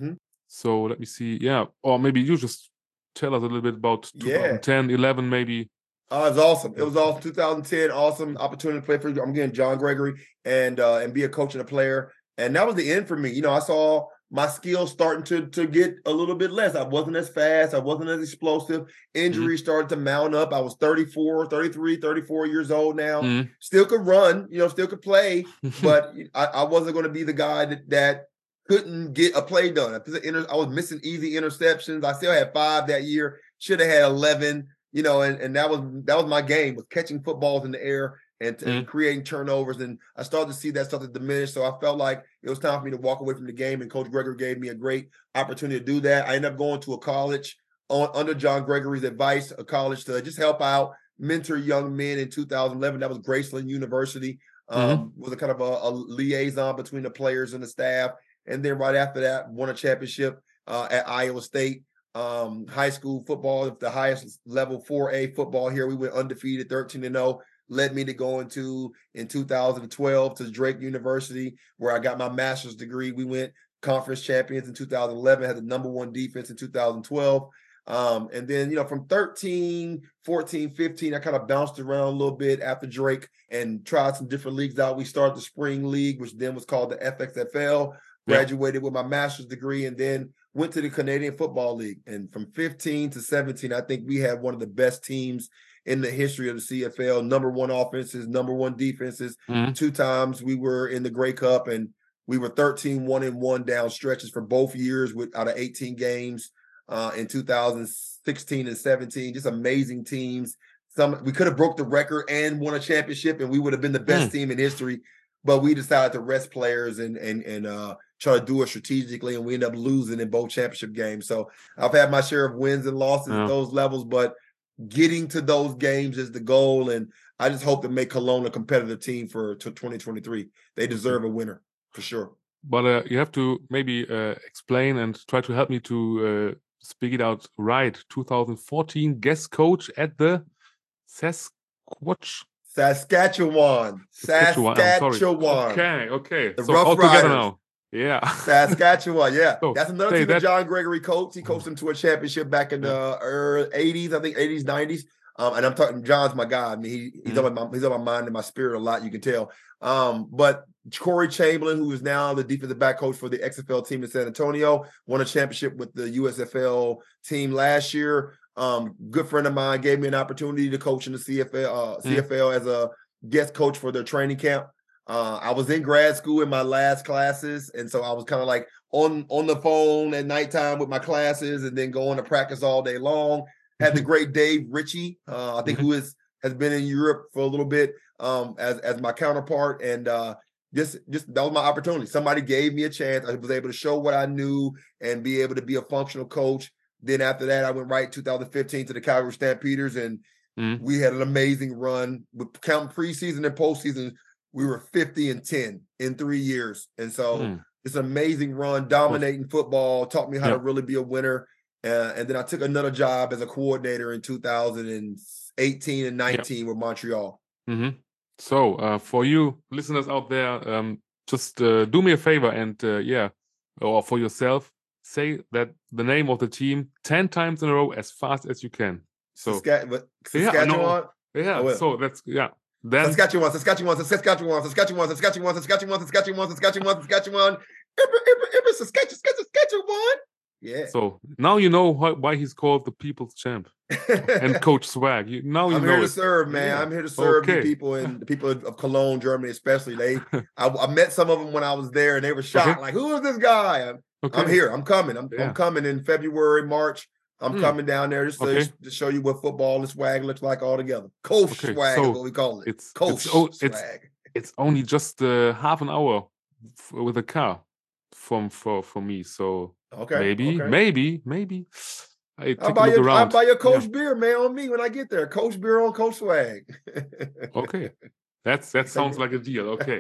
[SPEAKER 1] So let me see. Yeah. Or maybe you just tell us a little bit about 2010, 11 maybe.
[SPEAKER 2] It was awesome. It was awesome. 2010, awesome opportunity to play for, I'm getting John Gregory and be a coach and a player. And that was the end for me. You know, I saw my skills starting to get a little bit less. I wasn't as fast. I wasn't as explosive. Injuries started to mount up. I was 34, 33, 34 years old now. Still could run, you know, still could play, but I wasn't going to be the guy that couldn't get a play done. I was missing easy interceptions. I still had 5 that year. Should have had 11, you know, and that was my game, was catching footballs in the air and creating turnovers. And I started to see that start to diminish. So I felt like it was time for me to walk away from the game. And Coach Gregory gave me a great opportunity to do that. I ended up going to a college under John Gregory's advice, a college to just help out, mentor young men in 2011. That was Graceland University. Was a kind of a liaison between the players and the staff. And then right after that, won a championship at Iowa State. High school football, the highest level 4A football here. We went undefeated, 13-0. Led me to go in 2012 to Drake University, where I got my master's degree. We went conference champions in 2011, had the number 1 defense in 2012. And then, you know, from 13, 14, 15, I kind of bounced around a little bit after Drake and tried some different leagues out. We started the Spring League, which then was called the FXFL, graduated with my master's degree, and then went to the Canadian Football League. And from 15 to 17, I think we had one of the best teams in the history of the CFL, number 1 offenses, number 1 defenses. 2 times we were in the Grey Cup, and we were 13-1-1 down stretches for both years out of 18 games in 2016 and 17. Just amazing teams. We could have broke the record and won a championship, and we would have been the best team in history. But we decided to rest players and try to do it strategically, and we ended up losing in both championship games. So I've had my share of wins and losses at those levels, but getting to those games is the goal, and I just hope to make Cologne a competitive team for 2023. They deserve a winner for sure.
[SPEAKER 1] But you have to maybe explain and try to help me to speak it out right. 2014 guest coach at the
[SPEAKER 2] Saskatchewan.
[SPEAKER 1] Okay.
[SPEAKER 2] The
[SPEAKER 1] so
[SPEAKER 2] Rough
[SPEAKER 1] all together
[SPEAKER 2] Riders.
[SPEAKER 1] now. Yeah.
[SPEAKER 2] Saskatchewan, yeah.
[SPEAKER 1] So,
[SPEAKER 2] that's another team that John Gregory coached. He coached them to a championship back in the early 80s, I think 80s, 90s. And I'm talking, John's my guy. I mean, he's on my mind and my spirit a lot, you can tell. But Corey Chamberlain, who is now the defensive back coach for the XFL team in San Antonio, won a championship with the USFL team last year. Good friend of mine gave me an opportunity to coach in the CFL as a guest coach for their training camp. I was in grad school in my last classes, and so I was kind of like on the phone at nighttime with my classes, and then going to practice all day long. Had the great Dave Ritchie, I think, who has been in Europe for a little bit, as my counterpart, and just that was my opportunity. Somebody gave me a chance. I was able to show what I knew and be able to be a functional coach. Then after that, I went right 2015 to the Calgary Stampeders, and we had an amazing run with counting preseason and postseason. We were 50-10 in 3 years. And so it's an amazing run, dominating football, taught me how to really be a winner. And then I took another job as a coordinator in 2018 and 19 with Montreal.
[SPEAKER 1] So for you listeners out there, just do me a favor and or for yourself, say that the name of the team 10 times in a row as fast as you can. So
[SPEAKER 2] Saskatchewan?
[SPEAKER 1] So that's Then
[SPEAKER 2] Saskatchewan. Saskatchewan. Yeah.
[SPEAKER 1] So now you know why he's called the People's Champ and Coach Swag. I'm
[SPEAKER 2] here to serve, man. Yeah. I'm here to serve the people and the people of Cologne, Germany, especially. I met some of them when I was there, and they were shocked. Like, who is this guy? I'm here. I'm coming. I'm coming in February, March. I'm coming down there just to show you what football and swag looks like all together. Coach swag is what we call it.
[SPEAKER 1] It's swag. It's only just half an hour with a car for me. So maybe.
[SPEAKER 2] I'll buy your Coach beer, man, on me when I get there. Coach beer on Coach swag.
[SPEAKER 1] Okay. That sounds like a deal. Okay.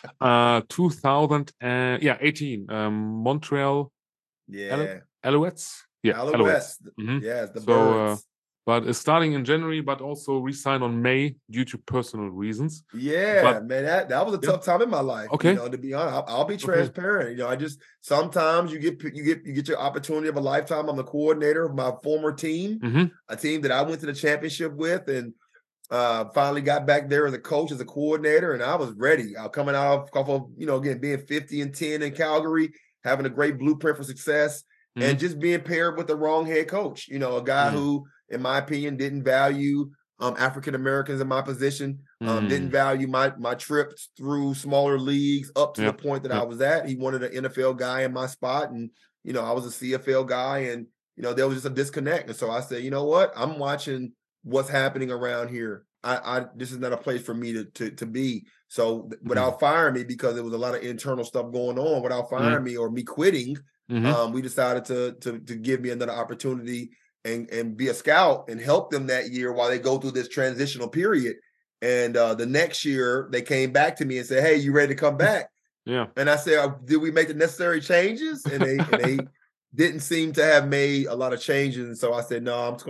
[SPEAKER 1] 2018. Montreal.
[SPEAKER 2] Yeah.
[SPEAKER 1] Alouettes. Yeah,
[SPEAKER 2] Alouettes. Yes, the Birds.
[SPEAKER 1] But starting in January, but also re-signed on May due to personal reasons.
[SPEAKER 2] Yeah, man, that was a tough time in my life.
[SPEAKER 1] Okay,
[SPEAKER 2] to be honest, I'll be transparent. I just sometimes you get your opportunity of a lifetime. I'm the coordinator of my former team, a team that I went to the championship with, and Finally got back there as a coach, as a coordinator, and I was ready. I was coming off of, again, being 50-10 in Calgary, having a great blueprint for success, and just being paired with the wrong head coach. A guy who, in my opinion, didn't value African Americans in my position, didn't value my trips through smaller leagues up to the point that I was at. He wanted an NFL guy in my spot, and I was a CFL guy, and there was just a disconnect. And so I said, you know what? I'm watching what's happening around here. This is not a place for me to be. So without firing me, because there was a lot of internal stuff going on, without firing me or me quitting, we decided to give me another opportunity and be a scout and help them that year while they go through this transitional period. And the next year they came back to me and said, "Hey, you ready to come back?"
[SPEAKER 1] Yeah.
[SPEAKER 2] And I said, "Did we make the necessary changes?" And they didn't seem to have made a lot of changes. And so I said, "No, I'm just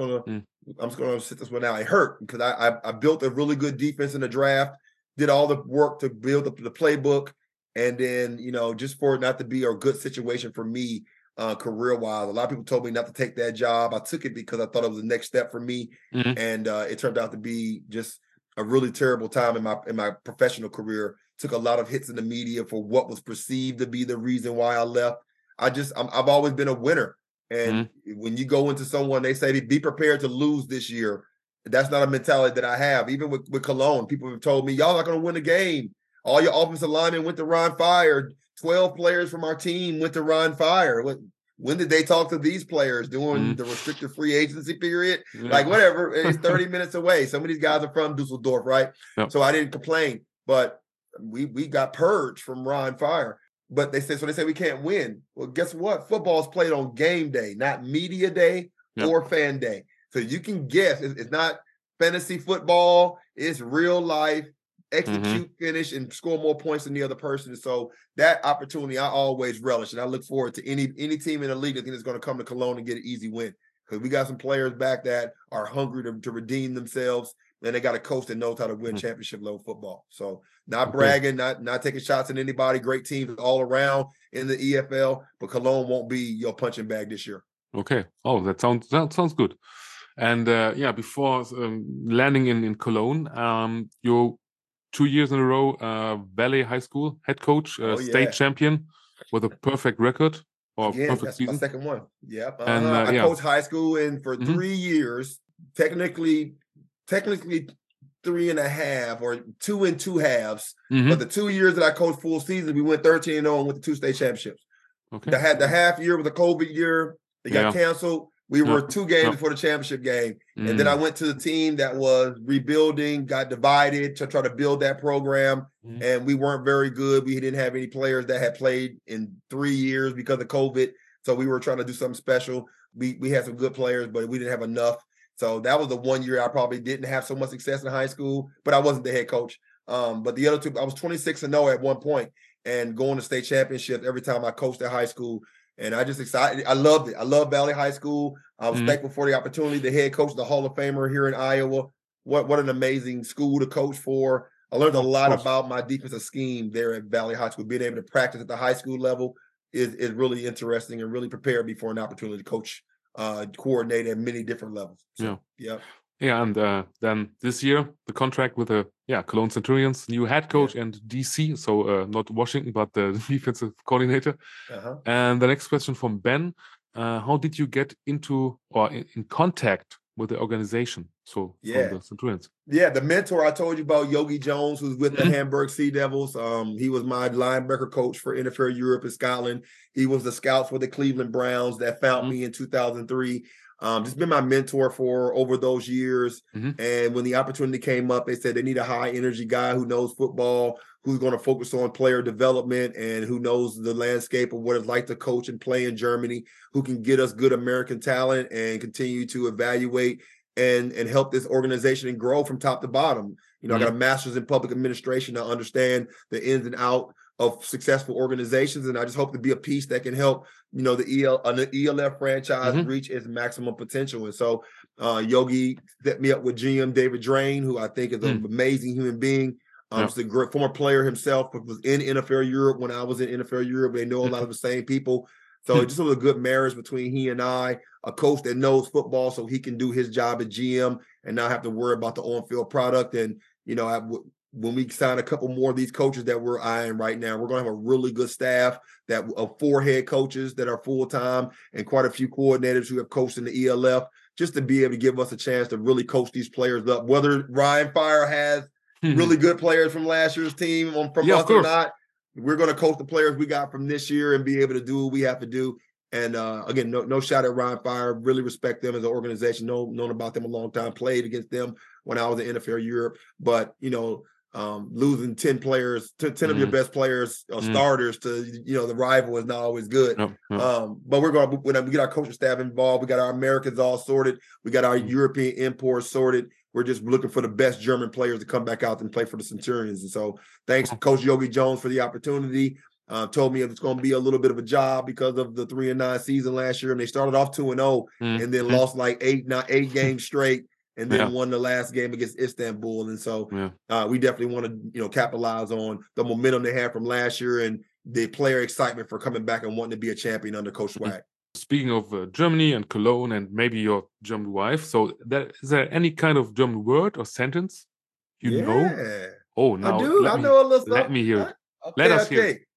[SPEAKER 2] gonna sit this one out." It hurt because I built a really good defense in the draft, did all the work to build up the playbook, and then just for it not to be a good situation for me career-wise. A lot of people told me not to take that job. I took it because I thought it was the next step for me, and it turned out to be just a really terrible time in my professional career. Took a lot of hits in the media for what was perceived to be the reason why I left. I've always been a winner. And when you go into someone, they say, be prepared to lose this year. That's not a mentality that I have. Even with Cologne, people have told me, y'all not going to win the game. All your offensive linemen went to Ron Fire. 12 players from our team went to Ron Fire. When did they talk to these players? During the restricted free agency period? Yeah. Like, whatever. It's 30 minutes away. Some of these guys are from Dusseldorf, right? Yep. So I didn't complain. But we got purged from Ron Fire. But they say we can't win. Well, guess what? Football is played on game day, not media day or fan day. So you can guess. It's not fantasy football. It's real life. Execute, finish, and score more points than the other person. So that opportunity I always relish, and I look forward to any team in the league that think is going to come to Cologne and get an easy win, because we got some players back that are hungry to redeem themselves, and they got a coach that knows how to win championship level football. So not bragging, not taking shots at anybody. Great teams all around in the EFL, but Cologne won't be your punching bag this year.
[SPEAKER 1] Okay. Oh, that sounds good. And before landing in Cologne, you 2 years in a row, Valley High School head coach, state champion with a perfect record or perfect season.
[SPEAKER 2] My second one. Yeah. And I coached high school, and for 3 years, technically 3.5 or 2 and 2 halves. But the 2 years that I coached full season, we went 13-0 and went to 2 state championships.
[SPEAKER 1] Okay.
[SPEAKER 2] The half year was a COVID year. They got canceled. We were 2 games before the championship game. And then I went to the team that was rebuilding, got divided to try to build that program. And we weren't very good. We didn't have any players that had played in 3 years because of COVID. So we were trying to do something special. We had some good players, but we didn't have enough. So that was the 1 year I probably didn't have so much success in high school, but I wasn't the head coach. But the other 2, I was 26-0 at one point and going to state championships every time I coached at high school. And I just excited. I loved it. I love Valley High School. I was thankful for the opportunity. The head coach, the Hall of Famer here in Iowa. What an amazing school to coach for. I learned a lot about my defensive scheme there at Valley High School. Being able to practice at the high school level is really interesting and really prepared me for an opportunity to coach, coordinate at many different levels. So,
[SPEAKER 1] Yeah, and then this year, the contract with the Cologne Centurions, new head coach and DC, so not Washington, but the defensive coordinator. And the next question from Ben, how did you get into or in contact with the organization? So from the Centurions.
[SPEAKER 2] Yeah, the mentor I told you about, Yogi Jones, who's with the Hamburg Sea Devils. He was my linebacker coach for NFL Europe and Scotland. He was the scout for the Cleveland Browns that found me in 2003. Just been my mentor for over those years. And when the opportunity came up, they said they need a high energy guy who knows football, who's going to focus on player development and who knows the landscape of what it's like to coach and play in Germany, who can get us good American talent and continue to evaluate and help this organization and grow from top to bottom. I got a master's in public administration. I understand the ins and outs of successful organizations, and I just hope to be a piece that can help, the ELF franchise reach its maximum potential. And so Yogi set me up with GM David Drain, who I think is an amazing human being. He's a great former player himself, but was in NFL Europe when I was in NFL Europe. They know a lot of the same people. So just a good marriage between he and I, a coach that knows football so he can do his job at GM and not have to worry about the on-field product. And, when we sign a couple more of these coaches that we're eyeing right now, we're going to have a really good staff of 4 head coaches that are full-time and quite a few coordinators who have coached in the ELF, just to be able to give us a chance to really coach these players up. Whether Ryan Fire has really good players from last year's team from us or not, we're going to coach the players we got from this year and be able to do what we have to do. And again, no shot at Ryan Fire. Really respect them as an organization. Known about them a long time. Played against them when I was in NFL Europe. But losing 10 players, 10 of your best players or starters to the rival is not always good. But when we get our coaching staff involved, we got our Americans all sorted. We got our European imports sorted. We're just looking for the best German players to come back out and play for the Centurions. And so thanks to Coach Yogi Jones for the opportunity. Told me it's going to be a little bit of a job because of the 3-9 season last year. And they started off 2-0 and then lost like 8 games straight and then won the last game against Istanbul. And so we definitely want to, capitalize on the momentum they had from last year and the player excitement for coming back and wanting to be a champion under Coach Swag.
[SPEAKER 1] Speaking of Germany and Cologne and maybe your German wife, so is there any kind of German word or sentence you know? Oh, now
[SPEAKER 2] I do. I know a little stuff.
[SPEAKER 1] Let me hear it. Let us hear it.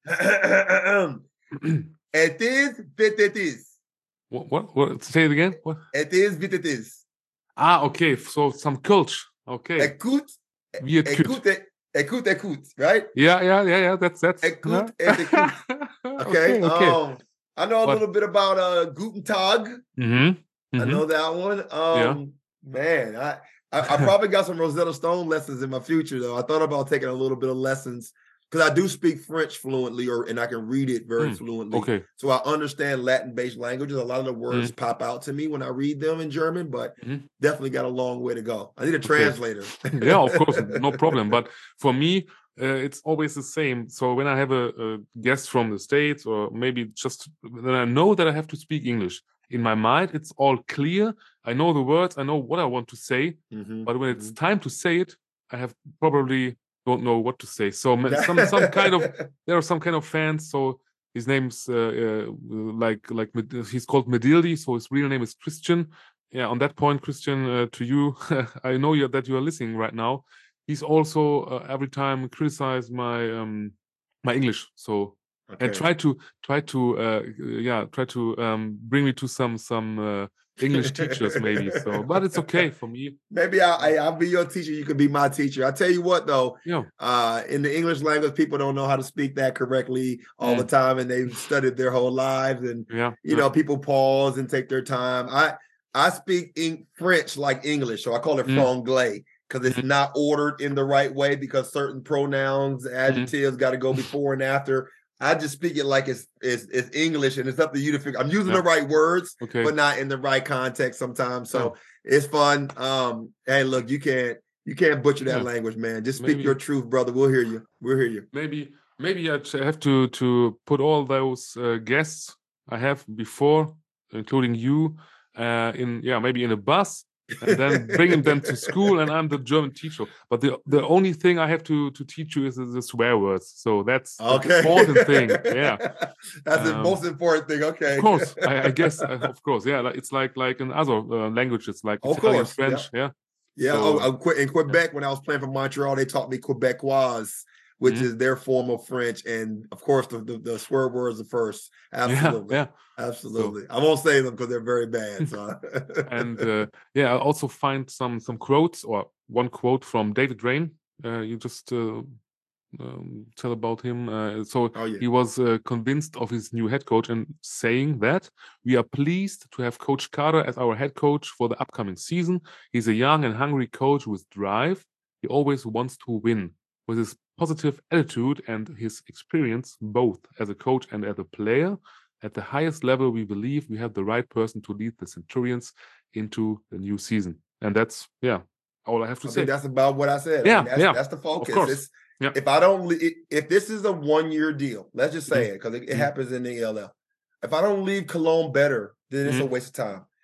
[SPEAKER 2] It is what it is.
[SPEAKER 1] What? Say it again. What?
[SPEAKER 2] It is what it is.
[SPEAKER 1] Okay. So some culture. Okay.
[SPEAKER 2] Écoute, right?
[SPEAKER 1] Yeah. That's.
[SPEAKER 2] Écoute et écoute. Okay. I know a little bit about Guten Tag. I know that one. Man, I probably got some Rosetta Stone lessons in my future, though. I thought about taking a little bit of lessons because I do speak French fluently, and I can read it very fluently. Okay. So I understand Latin-based languages. A lot of the words pop out to me when I read them in German, but definitely got a long way to go. I need a translator.
[SPEAKER 1] Yeah, of course, no problem. But for me, it's always the same. So when I have a guest from the States, or maybe just then I know that I have to speak English. In my mind, it's all clear. I know the words. I know what I want to say. But when it's time to say it, I have probably don't know what to say. So some kind of there are some kind of fans. So his name's like he's called Medildi. So his real name is Christian. Yeah. On that point, Christian, to you, I know that you are listening right now. He's also every time criticize my my English. So and try to bring me to some English teachers maybe. So, but it's okay for me.
[SPEAKER 2] Maybe I'll be your teacher. You could be my teacher. I tell you what, though. In the English language, people don't know how to speak that correctly all the time, and they've studied their whole lives. And people pause and take their time. I speak French like English, so I call it franglais. Because it's not ordered in the right way because certain pronouns, adjectives got to go before and after. I just speak it like it's English, and it's up to you to figure. I'm using the right words, but not in the right context sometimes. So it's fun. Hey, look, you can't butcher that language, man. Just speak your truth, brother. We'll hear you. We'll hear you.
[SPEAKER 1] Maybe I have to put all those guests I have before, including you, maybe in a bus. And then bringing them to school, and I'm the German teacher. But the only thing I have to teach you is the swear words. So that's the important thing. Yeah,
[SPEAKER 2] that's the most important thing. Okay,
[SPEAKER 1] of course. I guess, of course. Yeah, it's like in other languages, like Italian, French. Yeah.
[SPEAKER 2] So, in Quebec, when I was playing for Montreal, they taught me Quebecois, which is their form of French, and of course the swear words are first. Absolutely, absolutely. So, I won't say them because they're very bad. So.
[SPEAKER 1] And I also find some quotes, or one quote from David Rain. You just tell about him. He was convinced of his new head coach and saying that we are pleased to have Coach Carter as our head coach for the upcoming season. He's a young and hungry coach with drive. He always wants to win. With his positive attitude and his experience, both as a coach and as a player, at the highest level, we believe we have the right person to lead the Centurions into the new season. And that's, all I have to say.
[SPEAKER 2] That's about what I said. That's the focus. If this is a 1-year deal, let's just say it, because it happens in the ELF. If I don't leave Cologne better, then it's a waste of time.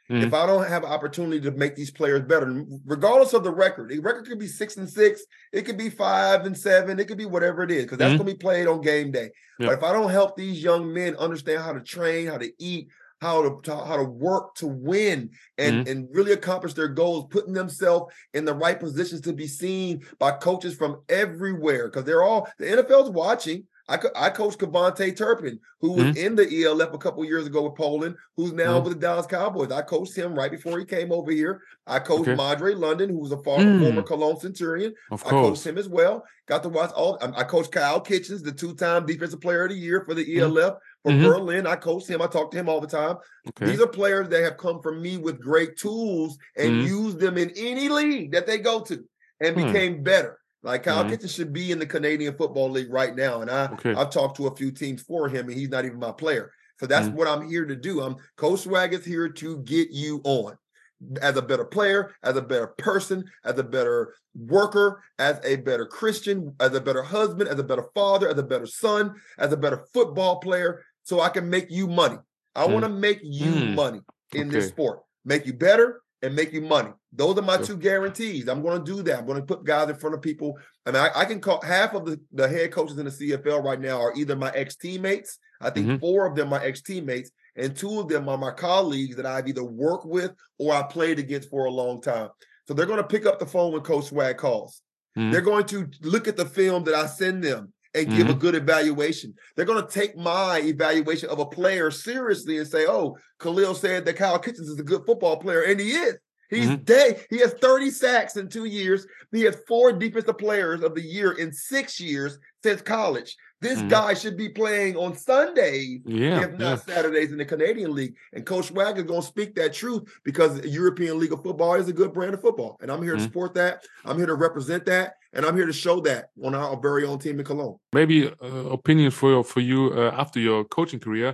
[SPEAKER 2] if I don't have an opportunity to make these players better, regardless of the record could be 6-6, it could be 5-7, it could be whatever it is, because that's going to be played on game day. But if I don't help these young men understand how to train, how to eat, how to work to win and really accomplish their goals, putting themselves in the right positions to be seen by coaches from everywhere, because the NFL's watching. I coached Cavante Turpin, who was in the ELF a couple years ago with Poland, who's now with the Dallas Cowboys. I coached him right before he came over here. I coached Madre London, who was a former Cologne Centurion. I coached him as well. Got to watch I coached Kyle Kitchens, the 2-time Defensive Player of the Year for the ELF for Berlin. I coached him. I talk to him all the time. These are players that have come from me with great tools and used them in any league that they go to and became better. Like Kyle Kitchens should be in the Canadian Football League right now. And I've talked to a few teams for him, and he's not even my player. So that's what I'm here to do. Coach Swag is here to get you on as a better player, as a better person, as a better worker, as a better Christian, as a better husband, as a better father, as a better son, as a better football player, so I can make you money. I want to make you money in this sport, make you better and make you money. Those are my two guarantees. I'm going to do that. I'm going to put guys in front of people. I mean, I can call half of the head coaches in the CFL right now are either my ex-teammates. I think 4 of them are ex-teammates, and 2 of them are my colleagues that I've either worked with or I played against for a long time. So they're going to pick up the phone when Coach Swag calls. They're going to look at the film that I send them and give a good evaluation. They're going to take my evaluation of a player seriously and say, oh, Khalil said that Kyle Kitchens is a good football player, and he is. He's He has 30 sacks in 2 years. He has 4 defensive players of the year in 6 years since college. This guy should be playing on Sundays, if not Saturdays in the Canadian League. And Coach Swag is going to speak that truth, because the European League of Football is a good brand of football. And I'm here to support that. I'm here to represent that. And I'm here to show that on our very own team in Cologne.
[SPEAKER 1] Maybe opinion for you after your coaching career.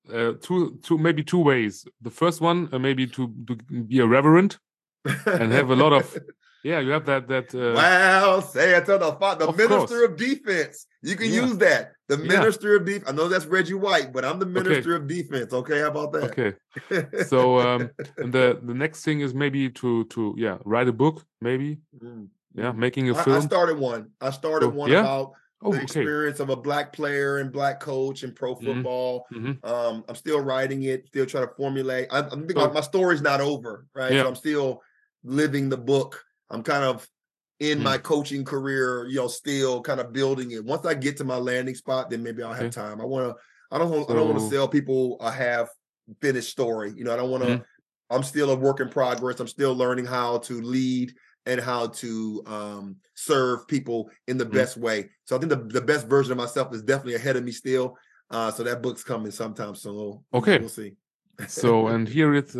[SPEAKER 1] Maybe 2 ways. The first one, maybe to be a reverend and have a lot of you have that
[SPEAKER 2] wow, say it to the minister of defense. You can use that. The minister of defense. I know that's Reggie White, but I'm the minister of defense. Okay, how about that?
[SPEAKER 1] Okay. So and the next thing is maybe to write a book, maybe. Making a film.
[SPEAKER 2] I started one about the experience of a Black player and Black coach in pro football. I'm still writing it, still trying to formulate. I think my story's not over, right? So I'm still living the book. I'm kind of in my coaching career, still kind of building it. Once I get to my landing spot, then maybe I'll have time. I don't want to sell people a half finished story. I don't want to. I'm still a work in progress. I'm still learning how to lead and how to serve people in the best way. So I think the best version of myself is definitely ahead of me still. So that book's coming sometime soon.
[SPEAKER 1] Okay.
[SPEAKER 2] We'll see.
[SPEAKER 1] So, and here is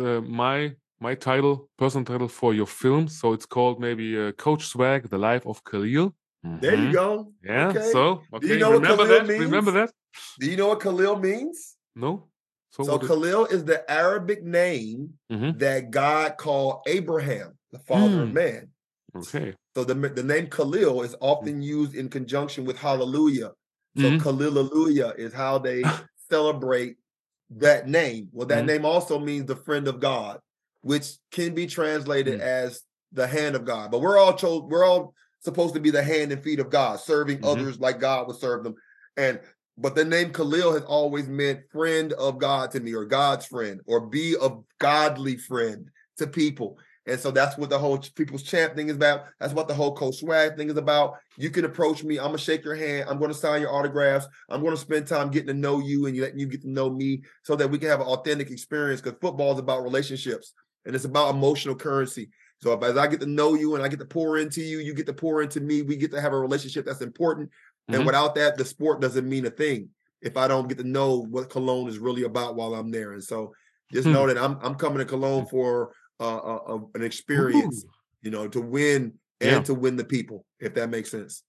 [SPEAKER 1] my personal title for your film. So it's called maybe Coach Swag, The Life of Khalil.
[SPEAKER 2] There you go.
[SPEAKER 1] Yeah.
[SPEAKER 2] Okay.
[SPEAKER 1] So,
[SPEAKER 2] Do you know what Khalil means?
[SPEAKER 1] Remember that?
[SPEAKER 2] Do you know what Khalil means?
[SPEAKER 1] No.
[SPEAKER 2] So Khalil is the Arabic name that God called Abraham, the father of man.
[SPEAKER 1] Okay.
[SPEAKER 2] So the name Khalil is often used in conjunction with hallelujah. So Khalilujah is how they celebrate that name. Well, that name also means the friend of God, which can be translated as the hand of God. But we're all supposed to be the hand and feet of God, serving others like God would serve them. But the name Khalil has always meant friend of God to me, or God's friend, or be a godly friend to people. And so that's what the whole People's Champ thing is about. That's what the whole Coach Swag thing is about. You can approach me. I'm going to shake your hand. I'm going to sign your autographs. I'm going to spend time getting to know you and letting you get to know me, so that we can have an authentic experience, because football is about relationships and it's about emotional currency. So as I get to know you and I get to pour into you, you get to pour into me, we get to have a relationship that's important. And without that, the sport doesn't mean a thing if I don't get to know what Cologne is really about while I'm there. And so just know that I'm coming to Cologne for an experience, to win and to win the people, if that makes sense.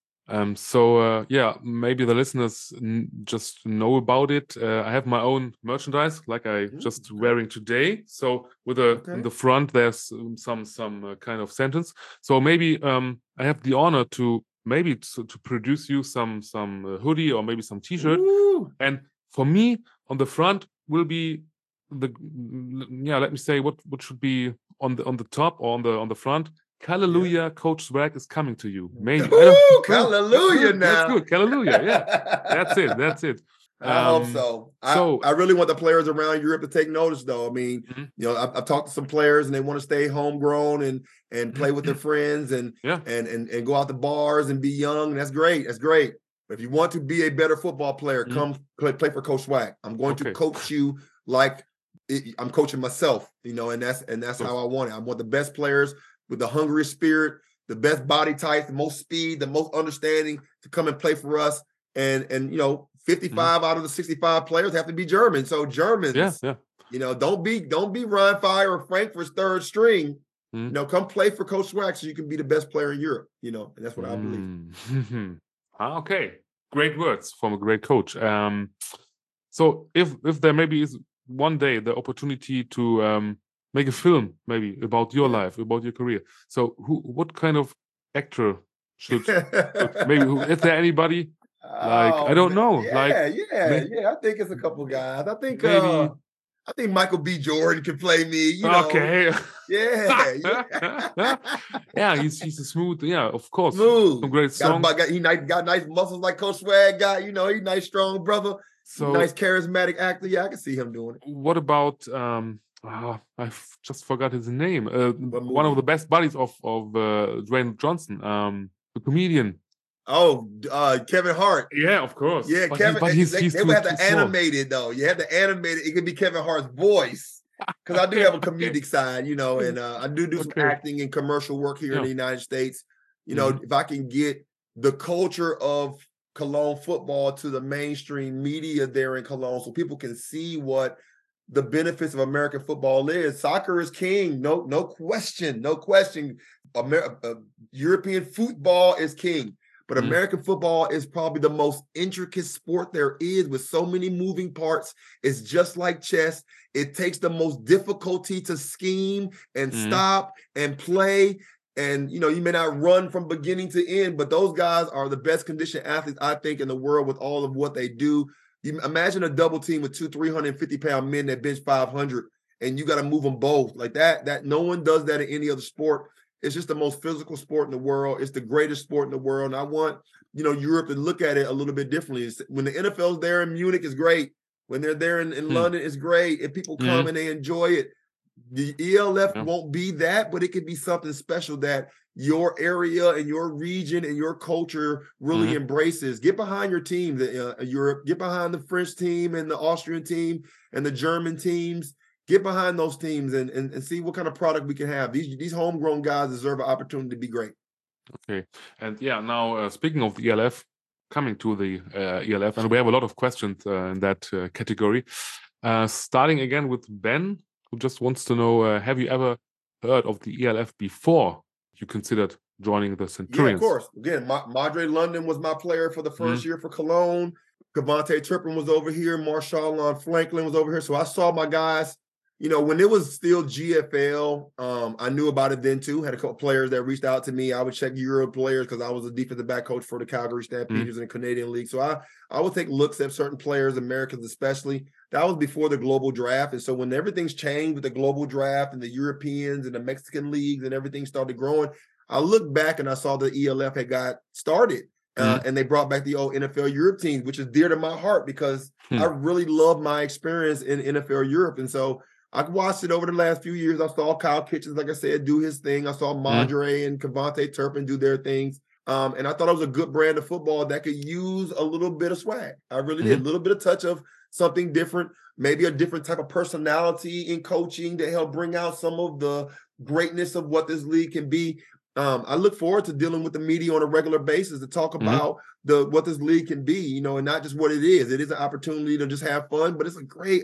[SPEAKER 1] Maybe the listeners just know about it. I have my own merchandise, like I just wearing today. So with in the front, there's some kind of sentence. So maybe I have the honor to produce you some hoodie or maybe some T-shirt. And for me, on the front will be let me say what should be on the top or on the front. Hallelujah, Coach Swag is coming to you. Maybe.
[SPEAKER 2] Hallelujah now.
[SPEAKER 1] That's good. Hallelujah. Yeah. That's it.
[SPEAKER 2] I hope so. I really want the players around Europe to take notice, though. I mean, I've talked to some players and they want to stay homegrown and play with their friends and go out to bars and be young. That's great. That's great. But if you want to be a better football player, come play for Coach Swag. I'm going to coach you like I'm coaching myself, and that's how I want it. I want the best players with the hungriest spirit, the best body type, the most speed, the most understanding to come and play for us. And 55 out of the 65 players have to be German. So Germans, don't be Ryan Fire or Frankfurt's third string. Come play for Coach Swag so you can be the best player in Europe. And that's what I believe.
[SPEAKER 1] Okay, great words from a great coach. So if there maybe is one day the opportunity to make a film maybe about your life, about your career. So what kind of actor should maybe is there anybody? I don't know.
[SPEAKER 2] I think it's a couple guys. I think maybe I think Michael B. Jordan can play me.
[SPEAKER 1] Okay.
[SPEAKER 2] Yeah.
[SPEAKER 1] He's a smooth. Yeah, of course.
[SPEAKER 2] Smooth.
[SPEAKER 1] Some great songs.
[SPEAKER 2] Got nice muscles like Coach Swag got. He's a nice, strong brother. So nice, charismatic actor. Yeah, I can see him doing it.
[SPEAKER 1] What about I just forgot his name. One of the best buddies of Dwayne Johnson, the comedian.
[SPEAKER 2] Kevin Hart.
[SPEAKER 1] Yeah, of course.
[SPEAKER 2] Yeah, Kevin. But they would have to animate it though. You have to animate it. It could be Kevin Hart's voice because I do have a comedic side, and I do some acting and commercial work here in the United States. If I can get the culture of Cologne football to the mainstream media there in Cologne, so people can see what the benefits of American football is. Soccer is king, no question. European football is king. But American football is probably the most intricate sport there is with so many moving parts. It's just like chess. It takes the most difficulty to scheme and stop and play. And, you may not run from beginning to end, but those guys are the best conditioned athletes, I think, in the world with all of what they do. You imagine a double team with 350-pound men that bench 500, and you got to move them both like that. That no one does that in any other sport. It's just the most physical sport in the world. It's the greatest sport in the world. And I want, Europe to look at it a little bit differently. When the NFL's there in Munich, it's great. When they're there in London, it's great. If people come and they enjoy it, the ELF won't be that, but it could be something special that your area and your region and your culture really embraces. Get behind your team, Europe. Get behind the French team and the Austrian team and the German teams. Get behind those teams and see what kind of product we can have. These homegrown guys deserve an opportunity to be great.
[SPEAKER 1] Okay. And now speaking of the ELF, coming to the ELF, and we have a lot of questions in that category. Starting again with Ben, who just wants to know, have you ever heard of the ELF before you considered joining the Centurions?
[SPEAKER 2] Yeah, of course. Again, Madre London was my player for the first year for Cologne. KaVontae Turpin was over here. Marshawn Franklin was over here. So I saw my guys. When it was still GFL, I knew about it then too. Had a couple players that reached out to me. I would check Euro players because I was a defensive back coach for the Calgary Stampeders in the Canadian League. So I would take looks at certain players, Americans especially. That was before the global draft. And so when everything's changed with the global draft and the Europeans and the Mexican leagues and everything started growing, I looked back and I saw the ELF had got started. And they brought back the old NFL Europe teams, which is dear to my heart because I really love my experience in NFL Europe. And so I watched it over the last few years. I saw Kyle Kitchens, like I said, do his thing. I saw Madre and KaVontae Turpin do their things. And I thought it was a good brand of football that could use a little bit of swag. I really did. A little bit of touch of something different, maybe a different type of personality in coaching to help bring out some of the greatness of what this league can be. I look forward to dealing with the media on a regular basis to talk about what this league can be, and not just what it is. It is an opportunity to just have fun, but it's a great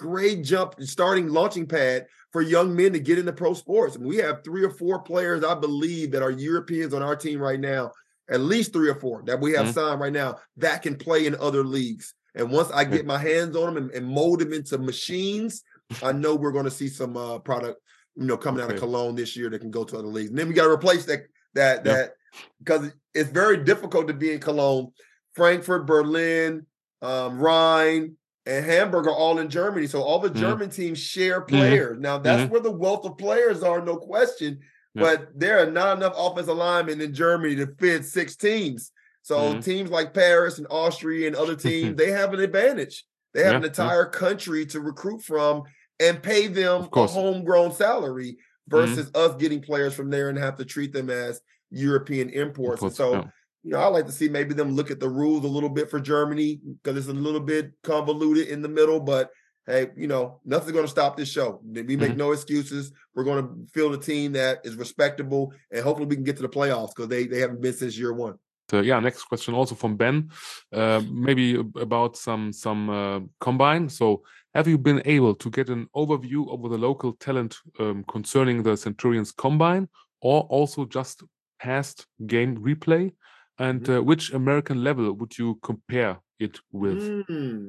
[SPEAKER 2] launching pad for young men to get into pro sports. I mean, we have 3 or 4 players, I believe, that are Europeans on our team right now, at least 3 or 4 that we have signed right now that can play in other leagues. And once I get my hands on them and mold them into machines, I know we're going to see some product, coming out of Cologne this year that can go to other leagues. And then we got to replace that because it's very difficult to be in Cologne, Frankfurt, Berlin, Rhine, and Hamburg are all in Germany. So all the German teams share players. Now, that's where the wealth of players are, no question. But there are not enough offensive linemen in Germany to fit 6 teams. So teams like Paris and Austria and other teams, they have an advantage. They have an entire country to recruit from and pay them a homegrown salary versus us getting players from there and have to treat them as European imports. And so, I like to see maybe them look at the rules a little bit for Germany because it's a little bit convoluted in the middle. But hey, nothing's going to stop this show. We make no excuses. We're going to field a team that is respectable, and hopefully we can get to the playoffs because they haven't been since year one.
[SPEAKER 1] Next question also from Ben, maybe about some combine. So have you been able to get an overview over the local talent concerning the Centurions combine, or also just past game replay? And which American level would you compare it with?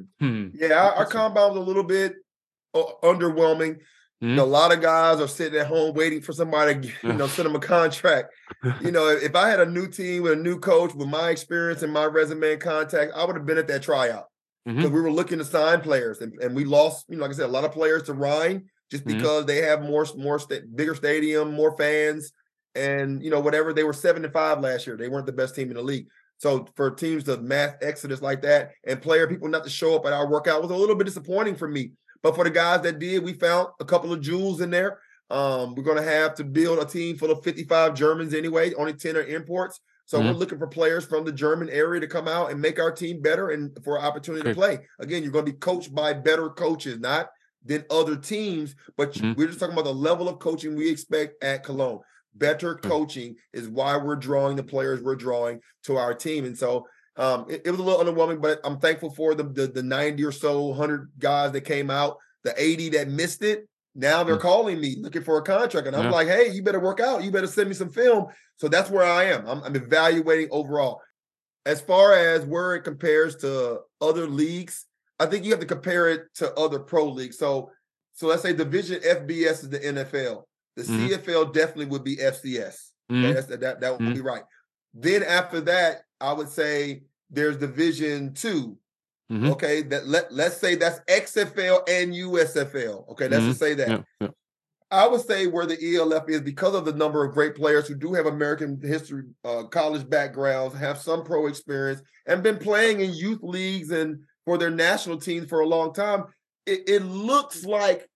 [SPEAKER 2] Yeah, our combine was a little bit underwhelming. A lot of guys are sitting at home waiting for somebody to send them a contract. If I had a new team with a new coach with my experience and my resume and contacts, I would have been at that tryout. Because we were looking to sign players, and we lost, like I said, a lot of players to Rhine just because they have bigger stadium, more fans, and whatever. They were 7-5 last year. They weren't the best team in the league. So for teams to mass exodus like that and people not to show up at our workout was a little bit disappointing for me. But for the guys that did, we found a couple of jewels in there. We're going to have to build a team full of 55 Germans anyway. Only 10 are imports. So we're looking for players from the German area to come out and make our team better and for an opportunity to play. Again, you're going to be coached by better coaches, not than other teams. But we're just talking about the level of coaching we expect at Cologne. Better coaching is why we're drawing the players we're drawing to our team. And so it was a little underwhelming, but I'm thankful for the 90 or so, 100 guys that came out, the 80 that missed it. Now they're calling me looking for a contract. And I'm like, hey, you better work out. You better send me some film. So that's where I am. I'm evaluating overall. As far as where it compares to other leagues, I think you have to compare it to other pro leagues. So let's say Division FBS is the NFL. The CFL definitely would be FCS. Okay? That would be right. Then after that, I would say there's Division 2. Okay, let's say that's XFL and USFL. Okay, let's just say that. I would say where the ELF is, because of the number of great players who do have American history, college backgrounds, have some pro experience, and been playing in youth leagues and for their national teams for a long time. It looks like,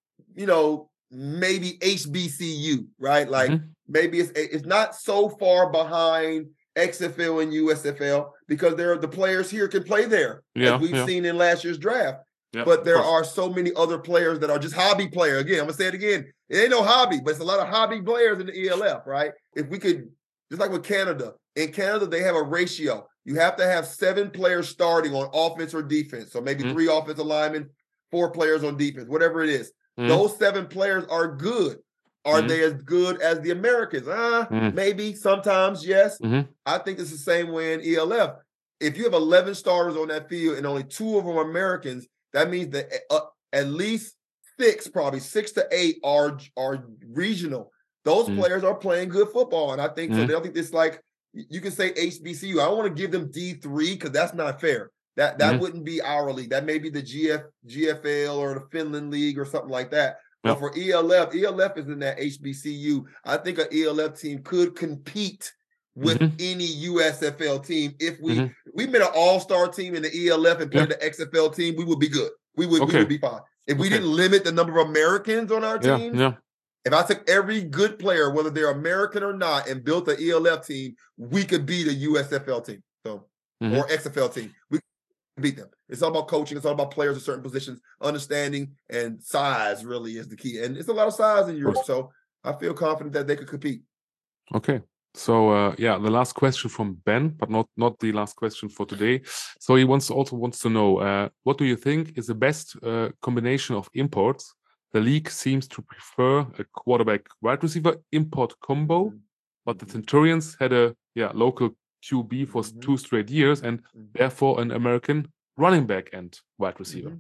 [SPEAKER 2] maybe HBCU, right? Like maybe it's not so far behind XFL and USFL because the players here can play there, as we've seen in last year's draft. But there are so many other players that are just hobby players. Again, I'm going to say it again. It ain't no hobby, but it's a lot of hobby players in the ELF, right? If we could, just like with Canada. In Canada, they have a ratio. You have to have 7 players starting on offense or defense. So maybe 3 offensive linemen, 4 players on defense, whatever it is. Those 7 players are good. Are they as good as the Americans? Maybe, sometimes, yes. I think it's the same way in ELF. If you have 11 starters on that field and only 2 of them are Americans, that means that at least 6, probably 6 to 8 are regional. Those players are playing good football. And I think so. They don't think it's like, you can say HBCU. I don't want to give them D3 because that's not fair. That wouldn't be our league. That may be the GFL or the Finland League or something like that. But for ELF is in that HBCU. I think an ELF team could compete with any USFL team. If we made an all-star team in the ELF and played the XFL team, we would be good. We would be fine. If we didn't limit the number of Americans on our team, if I took every good player, whether they're American or not, and built an ELF team, we could beat a USFL team, or XFL team. We could beat them. It's all about coaching. It's all about players in certain positions, understanding, and size really is the key. And it's a lot of size in Europe, so I feel confident that they could compete.
[SPEAKER 1] Okay. So the last question from Ben, but not the last question for today. So he also wants to know, what do you think is the best combination of imports? The league seems to prefer a quarterback wide receiver import combo, but the Centurions had a local QB for 2 straight years and therefore an American running back and wide receiver.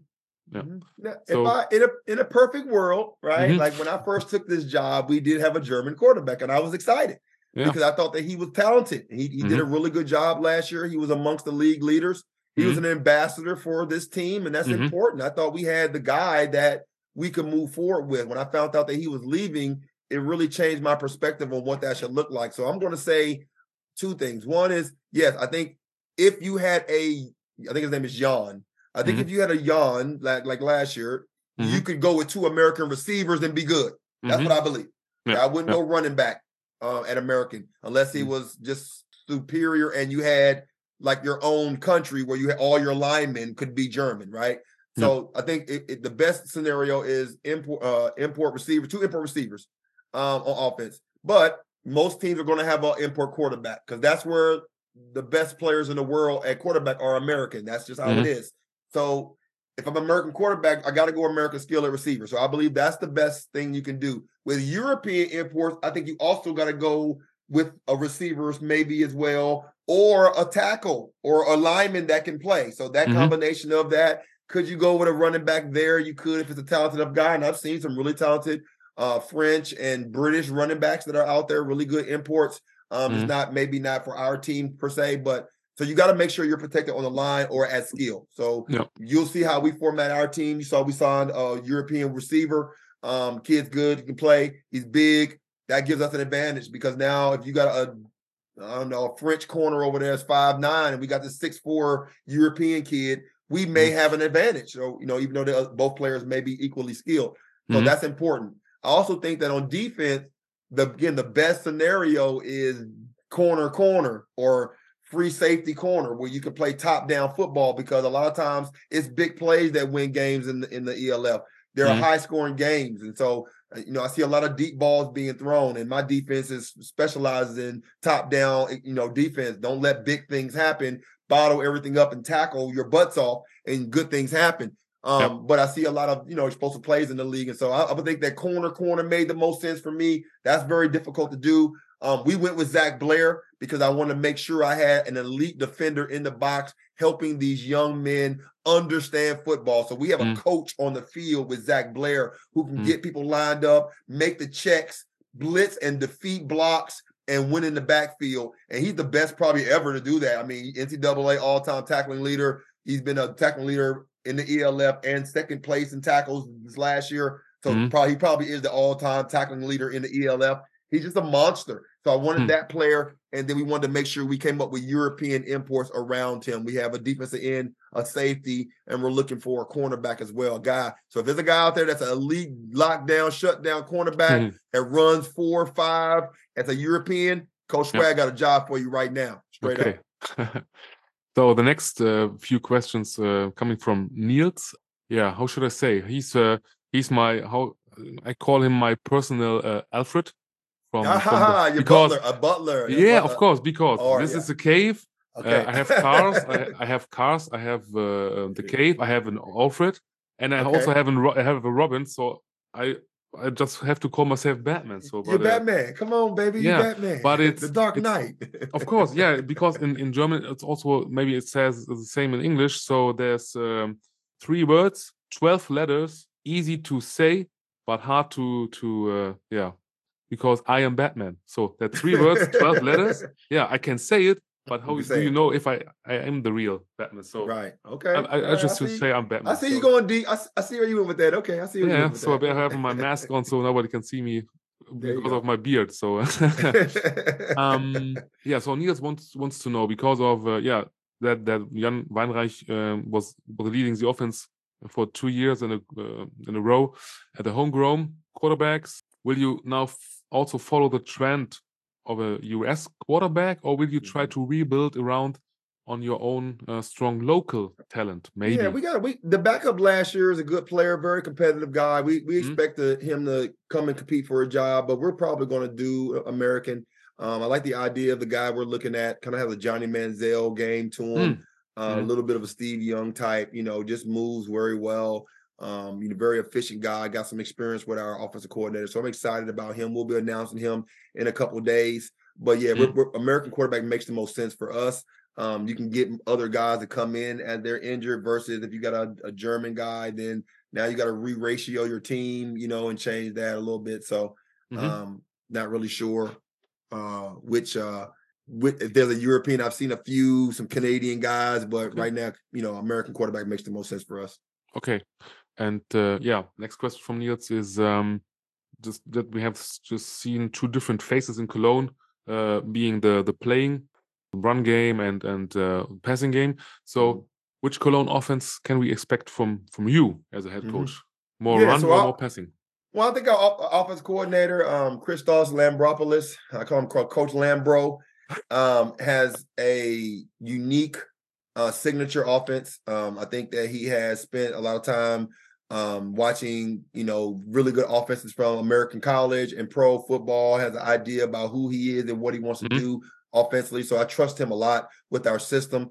[SPEAKER 2] So, in a perfect world, right? Like when I first took this job, we did have a German quarterback, and I was excited. Because I thought that he was talented. He did a really good job last year. He was amongst the league leaders. He was an ambassador for this team, and that's important. I thought we had the guy that we could move forward with. When I found out that he was leaving, it really changed my perspective on what that should look like. So I'm going to say two things. One is, yes, I think if you had I think his name is Jan. I think if you had a Jan like last year, you could go with 2 American receivers and be good. That's what I believe. Yeah. I wouldn't go running back at American unless he was just superior and you had like your own country where you had all your linemen could be German, right? So I think the best scenario is import receivers, 2 import receivers on offense. But most teams are going to have an import quarterback because that's where the best players in the world at quarterback are American. That's just how it is. So if I'm an American quarterback, I got to go American skill at receiver. So I believe that's the best thing you can do. With European imports, I think you also got to go with a receivers maybe as well, or a tackle or a lineman that can play. So that combination of that, could you go with a running back there? You could if it's a talented enough guy. And I've seen some really talented French and British running backs that are out there, really good imports. It's maybe not for our team per se, but so you got to make sure you're protected on the line or at skill. So you'll see how we format our team. You saw we signed a European receiver. Kid's good, he can play. He's big. That gives us an advantage because now if you got a French corner over there is 5'9", and we got this 6'4" European kid, we may have an advantage. So, even though both players may be equally skilled. So that's important. I also think that on defense, the best scenario is corner or free safety corner where you can play top-down football because a lot of times it's big plays that win games in the ELF. There are high-scoring games. And so, I see a lot of deep balls being thrown, and my defense specializes in top-down, defense. Don't let big things happen. Bottle everything up and tackle your butts off, and good things happen. But I see a lot of, explosive plays in the league. And so I would think that corner made the most sense for me. That's very difficult to do. We went with Zach Blair because I want to make sure I had an elite defender in the box helping these young men understand football. So we have a coach on the field with Zach Blair who can get people lined up, make the checks, blitz and defeat blocks, and win in the backfield. And he's the best probably ever to do that. I mean, NCAA all-time tackling leader. He's been a tackling leader in the ELF and second place in tackles this last year. So he probably is the all-time tackling leader in the ELF. He's just a monster. So I wanted that player, and then we wanted to make sure we came up with European imports around him. We have a defensive end, a safety, and we're looking for a cornerback as well, a guy. So if there's a guy out there that's an elite lockdown, shutdown cornerback that runs 4-5 as a European, Coach Swag got a job for you right now, straight up.
[SPEAKER 1] So the next few questions coming from Niels. Yeah, how should I say? He's I call him my personal Alfred.
[SPEAKER 2] Your butler, a butler.
[SPEAKER 1] Yeah, of course, because this is a cave. Okay. I have cars. I have cars. I have the cave. I have an Alfred, and I also have a Robin. So I just have to call myself Batman. So
[SPEAKER 2] you're Batman. Come on, baby, you're Batman.
[SPEAKER 1] But it's
[SPEAKER 2] the Dark Knight.
[SPEAKER 1] Of course, yeah. Because in German, it's also maybe it says the same in English. So there's 3 words, 12 letters, easy to say but hard to because I am Batman. So that 3 words, 12 letters. Yeah, I can say it, but how do you know if I am the real Batman? So
[SPEAKER 2] right, okay.
[SPEAKER 1] I just say I'm Batman.
[SPEAKER 2] I see you going deep. I see where you went with that. Okay, I see where you went with that.
[SPEAKER 1] So I have my mask on so nobody can see me because of my beard. So so Niels wants to know because of that Jan Weinreich was leading the offense for 2 years in a row at the homegrown quarterbacks. Will you now also follow the trend of a US quarterback, or will you try to rebuild around on your own strong local talent? Maybe.
[SPEAKER 2] Yeah, the backup last year is a good player, very competitive guy. We expect him to come and compete for a job, but we're probably going to do American. I like the idea of the guy we're looking at, kind of has a Johnny Manziel game to him, a little bit of a Steve Young type, just moves very well. Very efficient guy, got some experience with our offensive coordinator. So I'm excited about him. We'll be announcing him in a couple of days. But we're American quarterback makes the most sense for us. You can get other guys to come in as they're injured versus if you got a German guy, then now you got to re-ratio your team, and change that a little bit. So not really sure which if there's a European, I've seen some Canadian guys, but right now, American quarterback makes the most sense for us.
[SPEAKER 1] Okay. And next question from Niels is just that we have just seen two different faces in Cologne, being the playing run game and passing game. So which Cologne offense can we expect from you as a head coach? More run or more passing?
[SPEAKER 2] Well, I think our offense coordinator, Christos Lambropoulos, I call him Coach Lambro, has a unique signature offense. I think that he has spent a lot of time watching, really good offenses from American college and pro football, has an idea about who he is and what he wants to do offensively. So I trust him a lot with our system.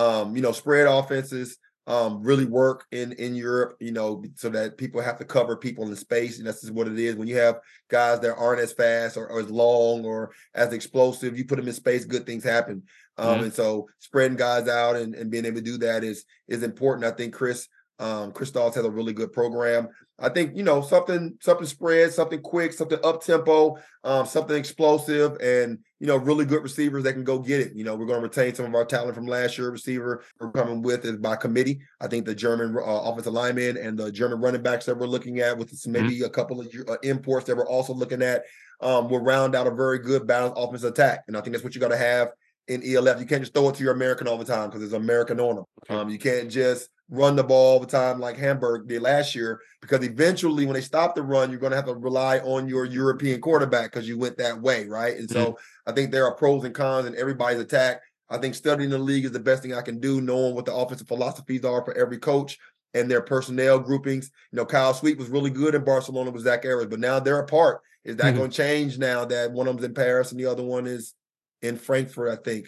[SPEAKER 2] Spread offenses really work in Europe, so that people have to cover people in space. And that's just what it is. When you have guys that aren't as fast or as long or as explosive, you put them in space, good things happen. And so spreading guys out and being able to do that is important. I think Christos has a really good program. I think, something spread, something quick, something up tempo, something explosive, and, really good receivers that can go get it. We're going to retain some of our talent from last year. Receiver we're coming with is by committee. I think the German offensive linemen and the German running backs that we're looking at with maybe a couple of imports that we're also looking at will round out a very good balanced offensive attack. And I think that's what you got to have in ELF. You can't just throw it to your American all the time because there's American on them. Okay. You can't just run the ball all the time like Hamburg did last year, because eventually when they stop the run, you're going to have to rely on your European quarterback because you went that way, right? And so I think there are pros and cons in everybody's attack. I think studying the league is the best thing I can do, knowing what the offensive philosophies are for every coach and their personnel groupings. Kyle Sweet was really good in Barcelona with Zach Ayers, but now they're apart. Is that going to change now that one of them's in Paris and the other one is in Frankfurt, I think?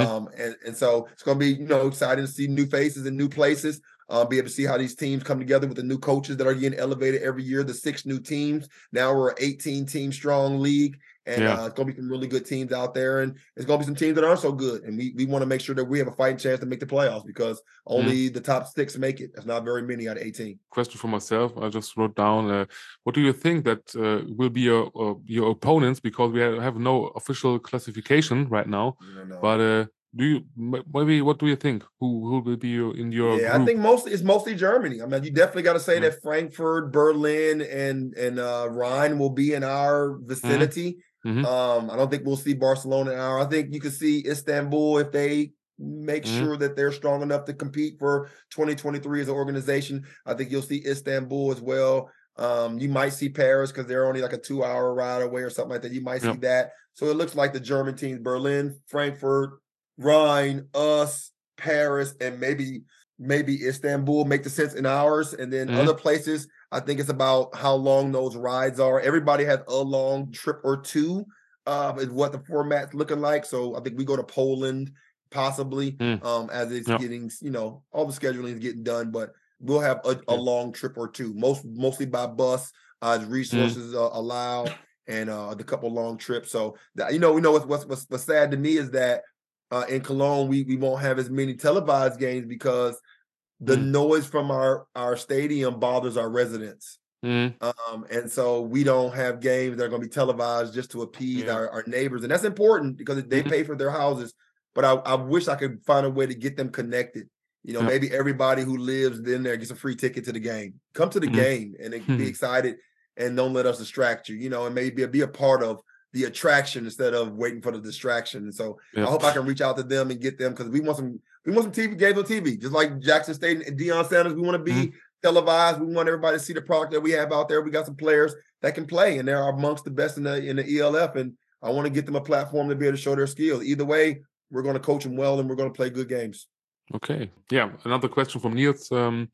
[SPEAKER 2] And so it's going to be, exciting to see new faces and new places, be able to see how these teams come together with the new coaches that are getting elevated every year, the 6 new teams. Now we're an 18-team strong league, and it's going to be some really good teams out there, and it's going to be some teams that aren't so good. And we want to make sure that we have a fighting chance to make the playoffs, because only the top 6 make it. There's not very many out of 18.
[SPEAKER 1] Question for myself. I just wrote down, what do you think that will be your opponents? Because we have no official classification right now. But what do you think? Who will be in your group?
[SPEAKER 2] I think it's mostly Germany. I mean, you definitely got to say that Frankfurt, Berlin, and Rhine will be in our vicinity. I don't think we'll see Barcelona in our. I think you could see Istanbul if they make sure that they're strong enough to compete for 2023 as an organization. I think you'll see Istanbul as well. You might see Paris because they're only like a 2-hour ride away or something like that. You might see that. So it looks like the German teams: Berlin, Frankfurt, Rhine, us, Paris, and maybe Istanbul make the sense in ours. And then other places, I think it's about how long those rides are. Everybody has a long trip or two, is what the format's looking like. So I think we go to Poland possibly, as it's getting, all the scheduling is getting done, but we'll have a long trip or two, mostly by bus, as resources allow, and the couple long trips. So that, what's sad to me is that in Cologne, we won't have as many televised games because the noise from our stadium bothers our residents. And so we don't have games that are going to be televised just to appease our neighbors. And that's important because they pay for their houses. But I wish I could find a way to get them connected. Maybe everybody who lives in there gets a free ticket to the game. Come to the game and be excited, and don't let us distract you, and maybe be a part of the attraction instead of waiting for the distraction. And so I hope I can reach out to them and get them, because we want some TV games on TV, just like Jackson State and Deion Sanders. We want to be televised. We want everybody to see the product that we have out there. We got some players that can play, and they're amongst the best in the ELF. And I want to get them a platform to be able to show their skills. Either way, we're going to coach them well, and we're going to play good games.
[SPEAKER 1] Okay. Yeah. Another question from Niels.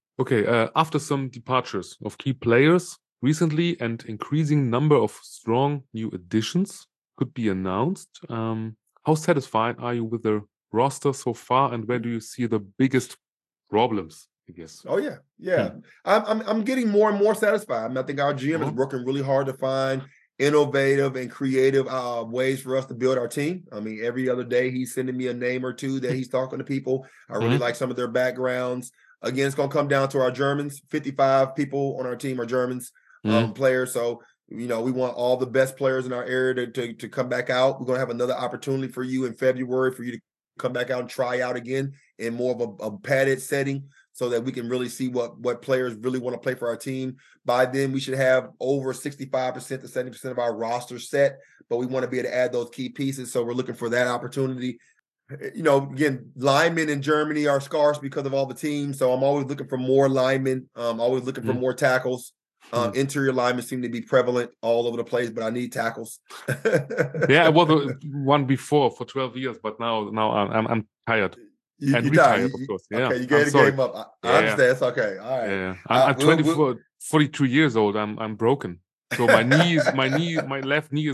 [SPEAKER 1] After some departures of key players recently and increasing number of strong new additions could be announced, how satisfied are you with the roster so far, and where do you see the biggest problems, I guess?
[SPEAKER 2] Oh yeah. I'm getting more and more satisfied. I mean, I think our GM is working really hard to find innovative and creative ways for us to build our team. I mean, every other day he's sending me a name or two that he's talking to people. I really like some of their backgrounds. Again, it's going to come down to our Germans. 55 people on our team are Germans players. So We want all the best players in our area to come back out. We're going to have another opportunity for you in February for you to come back out and try out again in more of a padded setting so that we can really see what players really want to play for our team. By then, we should have over 65% to 70% of our roster set, but we want to be able to add those key pieces. So we're looking for that opportunity. Again, linemen in Germany are scarce because of all the teams. So I'm always looking for more linemen. Always looking for more tackles. Interior linemen seem to be prevalent all over the place, but I need tackles.
[SPEAKER 1] Yeah, I was the one before for 12 years, but now I'm tired.
[SPEAKER 2] You're tired,
[SPEAKER 1] of course. Yeah.
[SPEAKER 2] Okay, you gave the game up. I understand. It's okay. All right.
[SPEAKER 1] Yeah. I'm 42 years old. I'm broken. So my left knee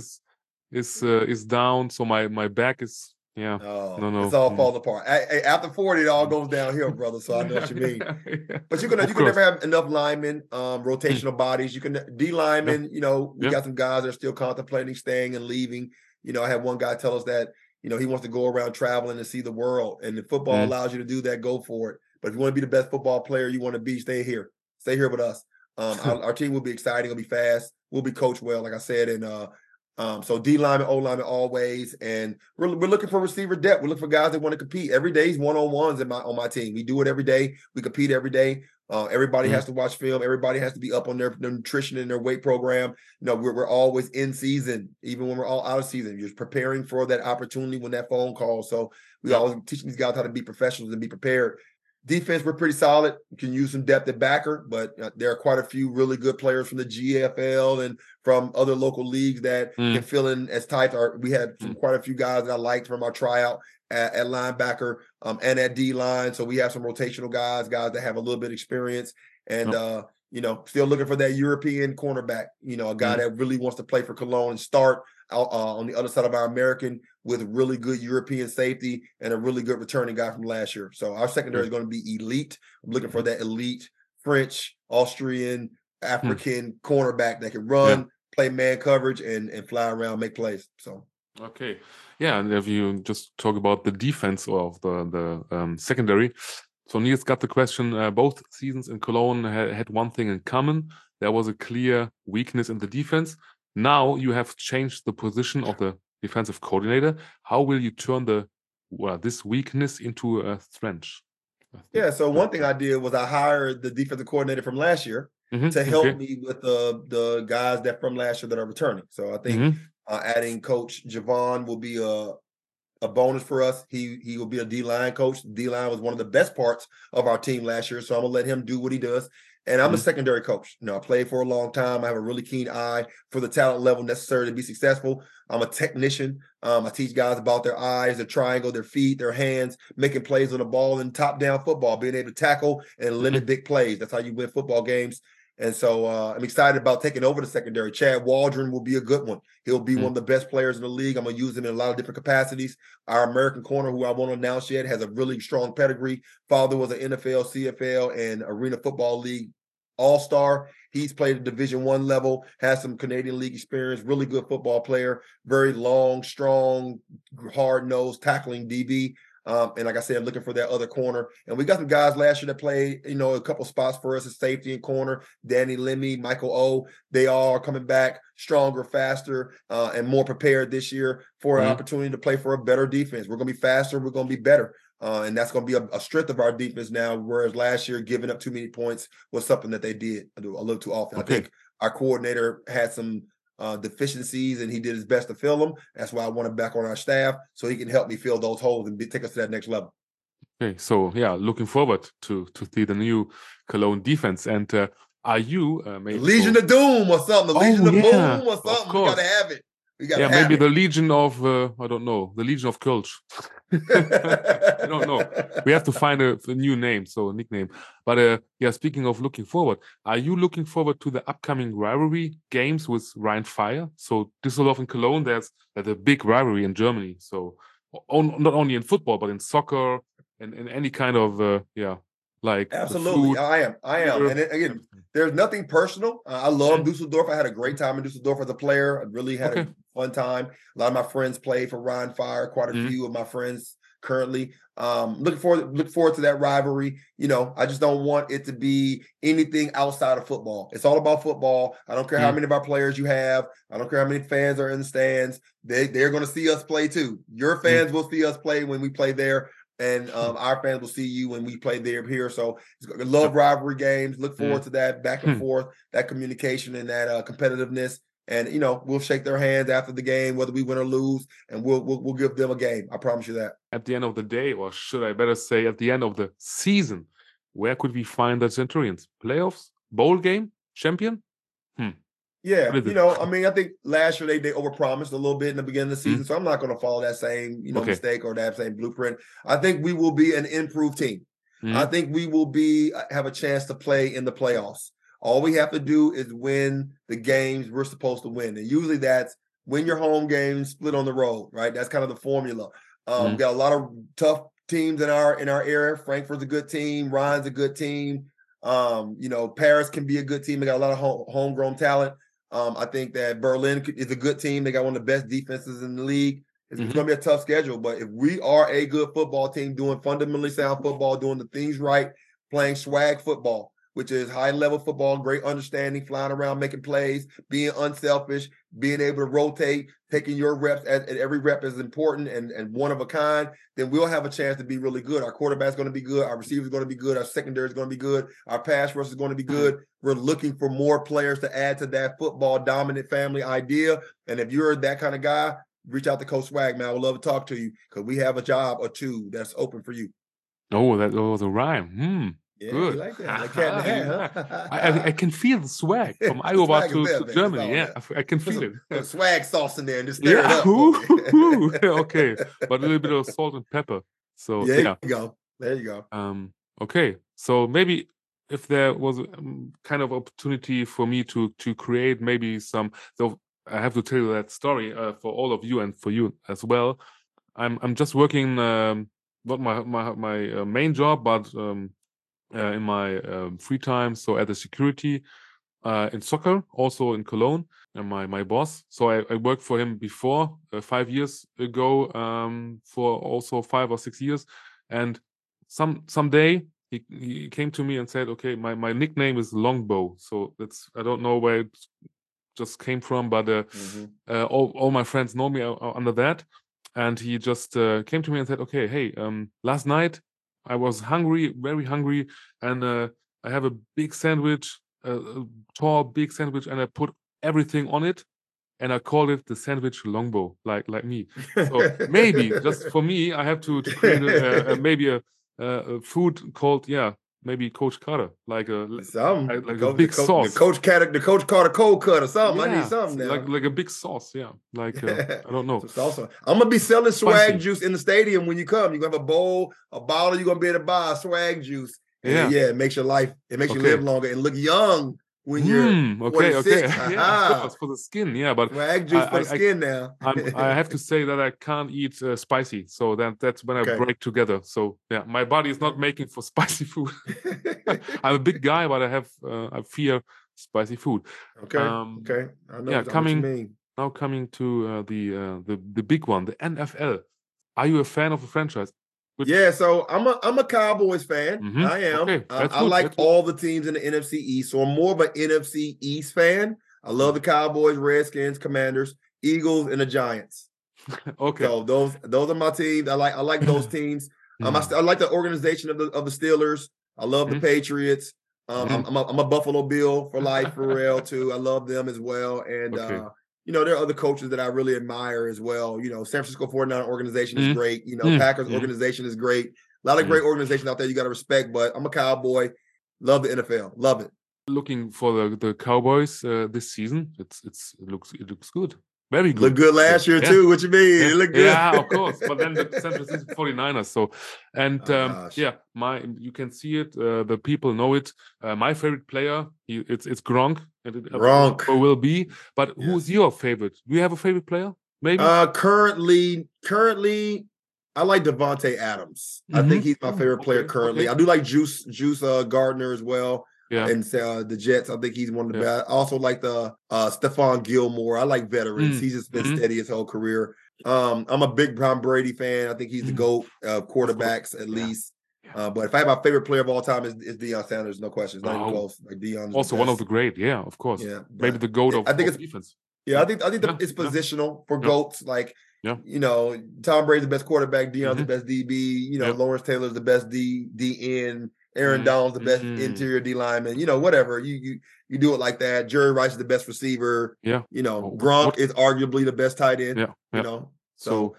[SPEAKER 1] is down. So my back is. Yeah.
[SPEAKER 2] Oh, no. It's all falling apart. After 40, it all goes downhill, brother. So I know what you mean. But you can never have enough linemen, rotational bodies. You can D linemen. We got some guys that are still contemplating staying and leaving. I had one guy tell us that he wants to go around traveling and see the world, and if football allows you to do that, go for it. But if you want to be the best football player you want to be, stay here with us. Our team will be exciting. It'll be fast. We'll be coached well, like I said, and. So D lineman, O lineman, always, and we're looking for receiver depth. We're looking for guys that want to compete. Every day is one-on-ones on my team. We do it every day. We compete every day. Everybody has to watch film. Everybody has to be up on their nutrition and their weight program. We're always in season, even when we're all out of season. You're preparing for that opportunity when that phone calls. So we always teaching these guys how to be professionals and be prepared. Defense, we're pretty solid. You can use some depth at backer, but there are quite a few really good players from the GFL and from other local leagues that can fill in as tight. We had quite a few guys that I liked from our tryout at linebacker and at D-line. So we have some rotational guys that have a little bit of experience. And, still looking for that European cornerback, a guy that really wants to play for Cologne and start on the other side of our American with really good European safety and a really good returning guy from last year. So our secondary is going to be elite. I'm looking for that elite French, Austrian, African cornerback that can run, play man coverage, and fly around, make plays. So
[SPEAKER 1] okay, yeah. And if you just talk about the defense of the secondary, so Niels got the question. Both seasons in Cologne had one thing in common. There was a clear weakness in the defense. Now you have changed the position of the defensive coordinator. How will you turn this weakness into a strength?
[SPEAKER 2] Yeah, so one thing I did was I hired the defensive coordinator from last year to help me with the guys that from last year that are returning. So I think adding Coach Javon will be a bonus for us. He will be a D-line coach. D-line was one of the best parts of our team last year, so I'm going to let him do what he does. And I'm a secondary coach. I played for a long time. I have a really keen eye for the talent level necessary to be successful. I'm a technician. I teach guys about their eyes, their triangle, their feet, their hands, making plays on the ball and top-down football, being able to tackle and limit big plays. That's how you win football games. And so I'm excited about taking over the secondary. Chad Waldron will be a good one. He'll be one of the best players in the league. I'm going to use him in a lot of different capacities. Our American corner, who I won't announce yet, has a really strong pedigree. Father was an NFL, CFL, and Arena Football League all-star. He's played at Division I level, has some Canadian League experience, really good football player, very long, strong, hard-nosed, tackling DB. And like I said, I'm looking for that other corner. And we got some guys last year that played, a couple spots for us as safety and corner. Danny Lemmy, Michael O. They all are coming back stronger, faster, and more prepared this year for an opportunity to play for a better defense. We're going to be faster. We're going to be better. And that's going to be a strength of our defense now, whereas last year giving up too many points was something that they did a little too often. Okay. I think our coordinator had some deficiencies, and he did his best to fill them. That's why I want him back on our staff so he can help me fill those holes and take us to that next level.
[SPEAKER 1] Okay, so yeah, looking forward to see the new Cologne defense. And are you
[SPEAKER 2] Legion of Doom or something? The Legion of Boom or something? We got to have it.
[SPEAKER 1] Maybe the Legion of I don't know, the Legion of Kölsch. I don't know. We have to find a new name, so a nickname. But speaking of looking forward, are you looking forward to the upcoming rivalry games with Rhein Fire? So Düsseldorf and Cologne, there's a big rivalry in Germany. So not only in football, but in soccer and in any kind of like
[SPEAKER 2] absolutely. I am. And again, there's nothing personal. I love Dusseldorf. I had a great time in Dusseldorf as a player. I really had a fun time. A lot of my friends played for Rhein Fire. Quite a few of my friends currently. Look forward to that rivalry. I just don't want it to be anything outside of football. It's all about football. I don't care how many of our players you have. I don't care how many fans are in the stands. They're going to see us play too. Your fans will see us play when we play there, and our fans will see you when we play there here. So love rivalry games. Look forward to that back and forth, that communication and that competitiveness. And we'll shake their hands after the game, whether we win or lose, and we'll give them a game. I promise you that.
[SPEAKER 1] At the end of the day, or should I better say, at the end of the season, where could we find the Centurions? Playoffs, bowl game, champion?
[SPEAKER 2] Yeah, I think last year they overpromised a little bit in the beginning of the season, so I'm not going to follow that same mistake or that same blueprint. I think we will be an improved team. I think we will have a chance to play in the playoffs. All we have to do is win the games we're supposed to win. And usually that's win your home games, split on the road, right? That's kind of the formula. We got a lot of tough teams in our area. Frankfurt's a good team. Ryan's a good team. Paris can be a good team. They got a lot of homegrown talent. I think that Berlin is a good team. They got one of the best defenses in the league. It's going to be a tough schedule. But if we are a good football team doing fundamentally sound football, doing the things right, playing swag football, which is high-level football, great understanding, flying around, making plays, being unselfish, being able to rotate, taking your reps, and every rep is important and one of a kind, then we'll have a chance to be really good. Our quarterback's going to be good. Our receiver's going to be good. Our secondary is going to be good. Our pass rush is going to be good. We're looking for more players to add to that football dominant family idea. And if you're that kind of guy, reach out to Coach Swag, man. I would love to talk to you because we have a job or two that's open for you.
[SPEAKER 1] Oh, that was a rime.
[SPEAKER 2] Yeah,
[SPEAKER 1] good.
[SPEAKER 2] You like that? Like cat in the hat, huh?
[SPEAKER 1] I can feel the swag from Iowa to Germany. Yeah, I can feel it.
[SPEAKER 2] Put swag sauce in there and just stir it up.
[SPEAKER 1] Okay, but a little bit of salt and pepper. So
[SPEAKER 2] there you go. There you go.
[SPEAKER 1] Okay, so maybe if there was kind of opportunity for me to create maybe some. So I have to tell you that story for all of you and for you as well. I'm just working not my main job, but in my free time, so at the security in soccer, also in Cologne, and my boss. So I worked for him before 5 years ago, for also 5 or 6 years, and someday he came to me and said, "Okay, my nickname is Longbow." So that's I don't know where it just came from, but all my friends know me under that. And he just came to me and said, "Okay, hey, last night I was hungry, very hungry, and I have a big sandwich, a tall, big sandwich, and I put everything on it, and I called it the sandwich Longbow, like me. So maybe just for me, I have to create maybe a food called maybe Coach Carter, like a big sauce.
[SPEAKER 2] The Coach Carter cold cut or something. I need something now.
[SPEAKER 1] Like a big sauce, Like I don't know.
[SPEAKER 2] I'm gonna be selling swag juice in the stadium when you come. You're gonna have a bowl, a bottle. You're gonna be able to buy swag juice. It makes your life. It makes you live longer and look young when you're 46.
[SPEAKER 1] Yeah, for the skin. But
[SPEAKER 2] swag juice for the skin now.
[SPEAKER 1] I have to say that I can't eat spicy, so that's when I break together. So my body is not making for spicy food. I'm a big guy, but I fear spicy food.
[SPEAKER 2] Okay. I know what you mean.
[SPEAKER 1] Now coming to the big one, the NFL. Are you a fan of the franchise?
[SPEAKER 2] So I'm a Cowboys fan. I am.
[SPEAKER 1] Okay,
[SPEAKER 2] I like all the teams in the NFC East, so I'm more of an NFC East fan. I love the Cowboys, Redskins, Commanders, Eagles, and the Giants.
[SPEAKER 1] Okay.
[SPEAKER 2] So those are my teams. I like those teams. I like the organization of the Steelers. I love the Patriots. I'm a Buffalo Bill for life, for real too. I love them as well. And there are other coaches that I really admire as well. San Francisco 49 organization is great. Packers organization is great. A lot of great organizations out there you got to respect, but I'm a Cowboy. Love the NFL. Love it.
[SPEAKER 1] Looking for the Cowboys this season. It looks good. Very good.
[SPEAKER 2] Look good last year too. What you mean? It looked good.
[SPEAKER 1] Yeah, of course. But then the San Francisco 49ers. So, and you can see it. The people know it. My favorite player, it's Gronk.
[SPEAKER 2] Gronk
[SPEAKER 1] will be. But who's your favorite? Do you have a favorite player? Maybe.
[SPEAKER 2] Currently, I like Devontae Adams. I think he's my favorite player currently. I do like Juice Gardner as well. and the Jets. I think he's one of the best. I also like the Stephon Gilmore. I like veterans. He's just been steady his whole career. I'm a big Tom Brady fan. I think he's the GOAT of quarterbacks at least. But if I have my favorite player of all time is Deion Sanders, no question. It's not even close. Like Deion,
[SPEAKER 1] also one of the great. Yeah, of course.
[SPEAKER 2] Yeah,
[SPEAKER 1] maybe the GOAT of defense.
[SPEAKER 2] Yeah, I think it's positional for GOATs. Like, Tom Brady's the best quarterback. Deion's the best DB. Lawrence Taylor's the best DN. Aaron Donald's the best interior D lineman. Whatever. You do it like that. Jerry Rice is the best receiver.
[SPEAKER 1] Yeah.
[SPEAKER 2] Gronk is arguably the best tight end.
[SPEAKER 1] So,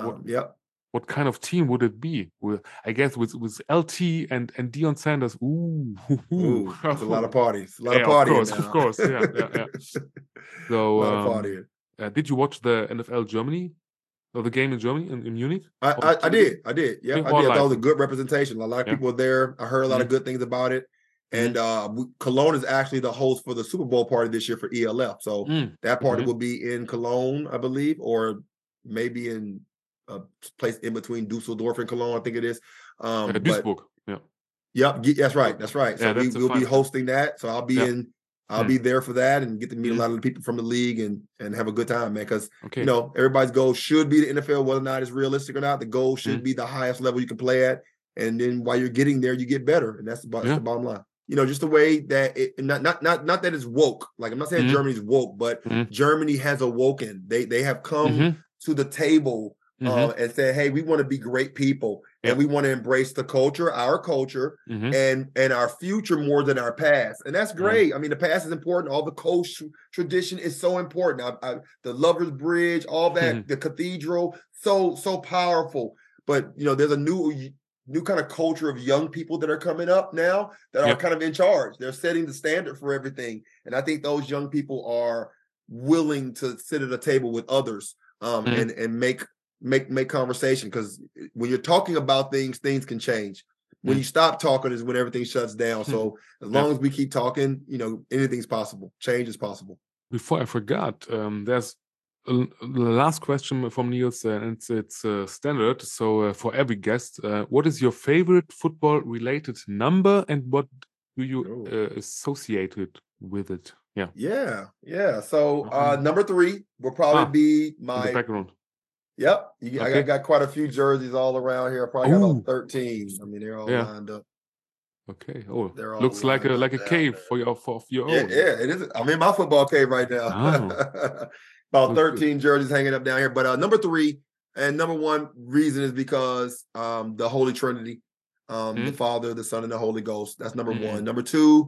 [SPEAKER 1] what kind of team would it be? I guess with LT and Deion Sanders. Ooh,
[SPEAKER 2] that's a lot of parties. A lot of partying.
[SPEAKER 1] Of course. Yeah. So,
[SPEAKER 2] a lot of partying.
[SPEAKER 1] Did you watch the NFL Germany? Or the game in Germany, in Munich?
[SPEAKER 2] I did. Yeah, I did. That was a good representation. A lot of people were there. I heard a lot of good things about it. And Cologne is actually the host for the Super Bowl party this year for ELF. So that party will be in Cologne, I believe, or maybe in a place in between Dusseldorf and Cologne, I think it is.
[SPEAKER 1] Duisburg.
[SPEAKER 2] Yep, that's right. So we'll be hosting that. So I'll be there for that and get to meet a lot of the people from the league and have a good time, man. Because everybody's goal should be the NFL, whether or not it's realistic or not. The goal should be the highest level you can play at, and then while you're getting there, you get better, and that's the bottom line. Just the way that not that it's woke. Like, I'm not saying Germany's woke, but Germany has awoken. They have come to the table and said, hey, we want to be great people. And we want to embrace the culture, our culture, and our future more than our past. And that's great. I mean, the past is important. All the coast tradition is so important. The Lover's Bridge, all that, the cathedral, so powerful. But, there's a new kind of culture of young people that are coming up now that are kind of in charge. They're setting the standard for everything. And I think those young people are willing to sit at a table with others and make conversation, because when you're talking about things can change. When you stop talking is when everything shuts down. So as long as we keep talking, anything's possible. Change is possible.
[SPEAKER 1] Before I forgot, there's the last question from Niels, and it's standard. So for every guest, what is your favorite football related number, and what do you associate it with it?
[SPEAKER 2] Yeah. So number 3 will probably be my
[SPEAKER 1] background.
[SPEAKER 2] Yep. I got quite a few jerseys all around here. I probably got about 13. I mean, they're all lined up.
[SPEAKER 1] Okay. Oh, looks like a cave for your own.
[SPEAKER 2] Yeah, it is. I'm in my football cave right now. About 13 jerseys hanging up down here. But number 3 and number 1 reason is because the Holy Trinity, the Father, the Son, and the Holy Ghost. That's number 1. Number 2,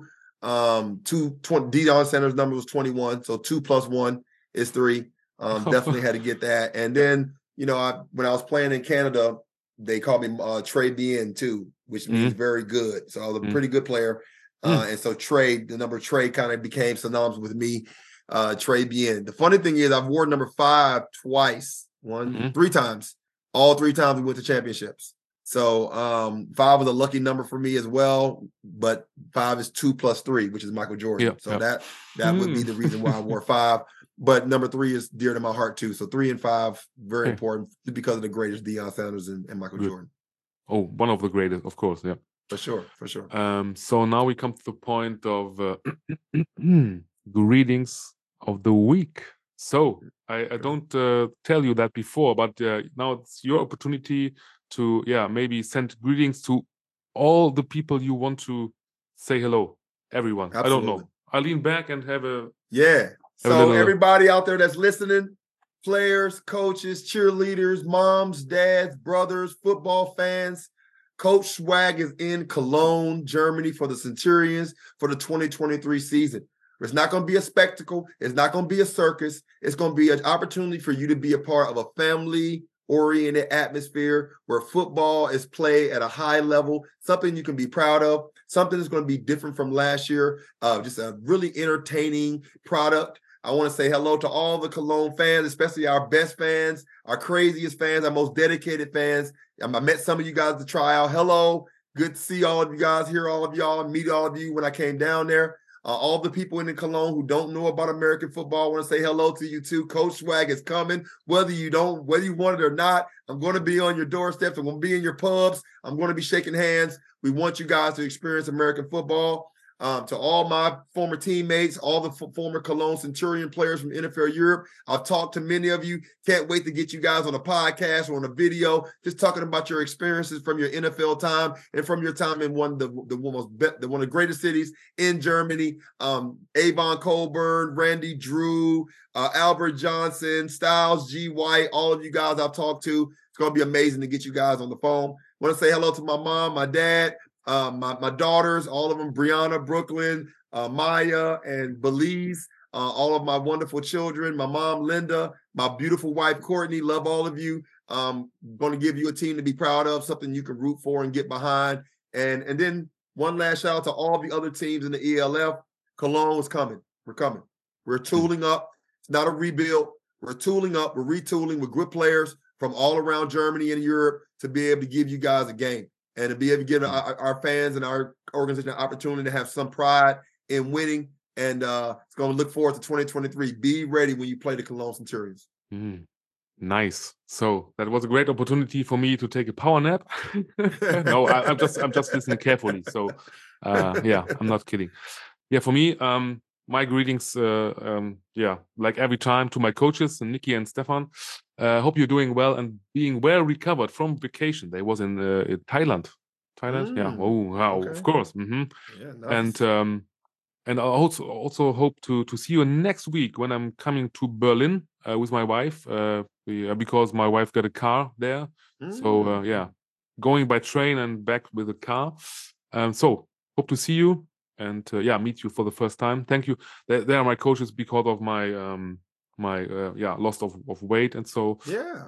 [SPEAKER 2] Deion Sanders' number was 21. So 2 plus 1 is 3. Definitely had to get that. And then, when I was playing in Canada, they called me Trey Bien too, which means very good. So I was a pretty good player. And so the number Trey kind of became synonymous with me, Trey Bien. The funny thing is I've worn number 5 twice, 3 times. All 3 times we went to championships. So 5 was a lucky number for me as well, but 5 is 2 plus 3, which is Michael Jordan. That would be the reason why I wore 5. But number 3 is dear to my heart too. So 3 and 5, very important because of the greatest Deion Sanders and Michael Jordan.
[SPEAKER 1] Oh, one of the greatest, of course. Yeah,
[SPEAKER 2] for sure.
[SPEAKER 1] So now we come to the point of greetings of the week. So I don't tell you that before, but now it's your opportunity to maybe send greetings to all the people you want to say hello. Everyone. Absolutely. I don't know. I lean back and have a
[SPEAKER 2] So everybody out there that's listening, players, coaches, cheerleaders, moms, dads, brothers, football fans, Coach Swag is in Cologne, Germany for the Centurions for the 2023 season. It's not going to be a spectacle. It's not going to be a circus. It's going to be an opportunity for you to be a part of a family-oriented atmosphere where football is played at a high level, something you can be proud of, something that's going to be different from last year, just a really entertaining product. I want to say hello to all the Cologne fans, especially our best fans, our craziest fans, our most dedicated fans. I met some of you guys to try out. Hello. Good to see all of you guys, hear all of y'all, and meet all of you when I came down there. All the people in Cologne who don't know about American football, I want to say hello to you too. Coach Swag is coming. Whether you want it or not, I'm going to be on your doorsteps. I'm going to be in your pubs. I'm going to be shaking hands. We want you guys to experience American football. To all my former teammates, all the former Cologne Centurion players from NFL Europe. I've talked to many of you. Can't wait to get you guys on a podcast or on a video, just talking about your experiences from your NFL time and from your time in one of the greatest cities in Germany. Avon Colburn, Randy Drew, Albert Johnson, Styles G. White, all of you guys I've talked to. It's going to be amazing to get you guys on the phone. Want to say hello to my mom, my dad, my daughters, all of them, Brianna, Brooklyn, Maya, and Belize, all of my wonderful children, my mom, Linda, my beautiful wife, Courtney, love all of you. Going to give you a team to be proud of, something you can root for and get behind. And then one last shout out to all the other teams in the ELF. Cologne is coming. We're coming. We're tooling up. It's not a rebuild. We're tooling up. We're retooling with good players from all around Germany and Europe to be able to give you guys a game and to be able to give our fans and our organization an opportunity to have some pride in winning. And it's going to look forward to 2023. Be ready when you play the Cologne Centurions.
[SPEAKER 1] Nice. So that was a great opportunity for me to take a power nap. No, I'm just listening carefully. So yeah, I'm not kidding. Yeah, for me, my greetings, like every time to my coaches, Nikki and Stefan. Hope you're doing well and being well recovered from vacation. They was in Thailand. Yeah. Oh, wow. Okay. Of course. Yeah, nice. And I also hope to see you next week when I'm coming to Berlin with my wife because my wife got a car there. So yeah, going by train and back with a car. So hope to see you. And meet you for the first time. Thank you. They are my coaches because of my loss of weight, and so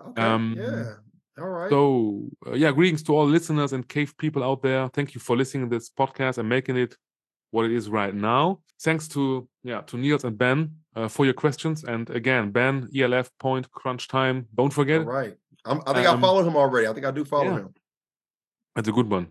[SPEAKER 2] all right.
[SPEAKER 1] So greetings to all listeners and cave people out there. Thank you for listening to this podcast and making it what it is right now. Thanks to Niels and Ben for your questions. And again, Ben, ELF Point Crunch Time. Don't forget.
[SPEAKER 2] All right. I think I followed him already. I think I do follow him.
[SPEAKER 1] That's a good one.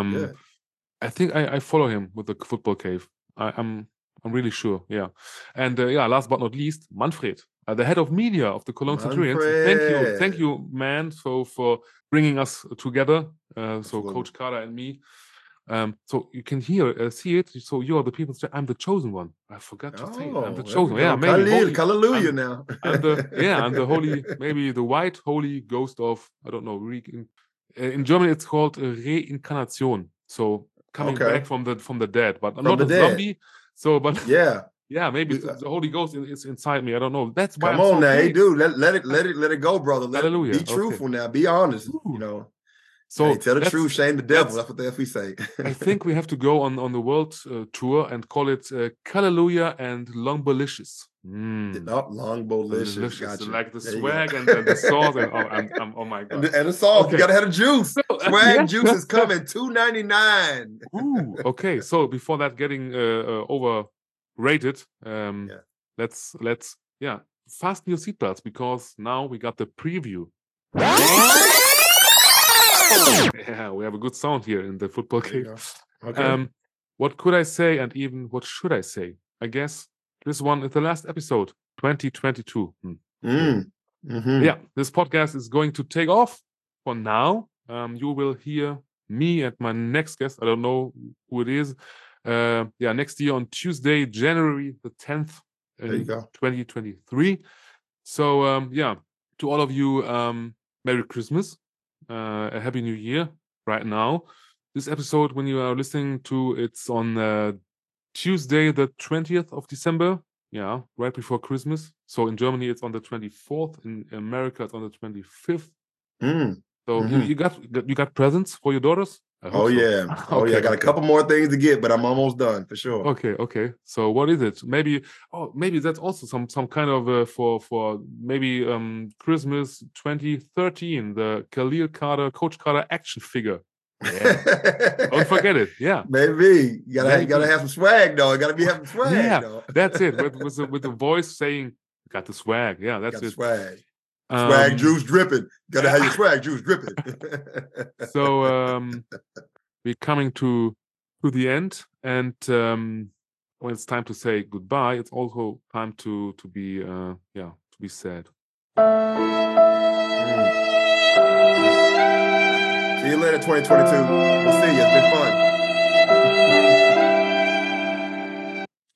[SPEAKER 1] I think I follow him with the Football Cave. I'm really sure. Yeah. And last but not least, Manfred, the head of media of the Cologne Centurions. Thank you, man. So for bringing us together. So Coach Carter and me. So you can see it. So you are the people. I'm the chosen one. I forgot to say it. I'm the chosen one. Yeah, maybe.
[SPEAKER 2] Hallelujah now.
[SPEAKER 1] I'm the holy, maybe the white holy ghost of, I don't know. In German, it's called Reincarnation. So coming back from the dead, but I'm not a zombie. So, but maybe the Holy Ghost is inside me. I don't know. That's why.
[SPEAKER 2] Come on now, hey, dude, let it go, brother. Hallelujah. Be truthful now. Be honest. You know. So tell the truth, shame the devil. That's what we say.
[SPEAKER 1] I think we have to go on the world tour and call it Hallelujah and Longbolicious.
[SPEAKER 2] Longbolicious, gotcha.
[SPEAKER 1] Like the swag and the sauce and oh my god.
[SPEAKER 2] And the sauce, you gotta have the juice. Swag juice is coming, $2.99.
[SPEAKER 1] Ooh, okay. So before that getting overrated, let's fasten your seatbelts because now we got the preview. Yeah, we have a good sound here in the Football Cave. Okay. What could I say and even what should I say? I guess this one is the last episode, 2022. Yeah, this podcast is going to take off for now. You will hear me and my next guest. I don't know who it is. Next year on Tuesday, January the 10th, 2023. So, to all of you, Merry Christmas. A Happy New Year right now. This episode, when you are listening to, it's on Tuesday, the 20th of December. Yeah, right before Christmas. So in Germany, it's on the 24th. In America, it's on the 25th. So you got presents for your daughters?
[SPEAKER 2] Yeah. I got a couple more things to get, but I'm almost done for sure.
[SPEAKER 1] Okay. So what is it? Maybe that's also some kind of for maybe Christmas 2013, the Khalil Carter, Coach Carter action figure. Yeah. Don't forget it. Yeah.
[SPEAKER 2] Maybe. You gotta have some swag though. You gotta have some swag.
[SPEAKER 1] Yeah,
[SPEAKER 2] though.
[SPEAKER 1] That's it. With the voice saying, got the swag. Yeah, that's it.
[SPEAKER 2] Swag. Swag juice dripping. Gotta have your swag juice dripping.
[SPEAKER 1] So we're coming to the end, and when it's time to say goodbye, it's also time to be sad.
[SPEAKER 2] See you later, 2022. We'll see you. It's been fun.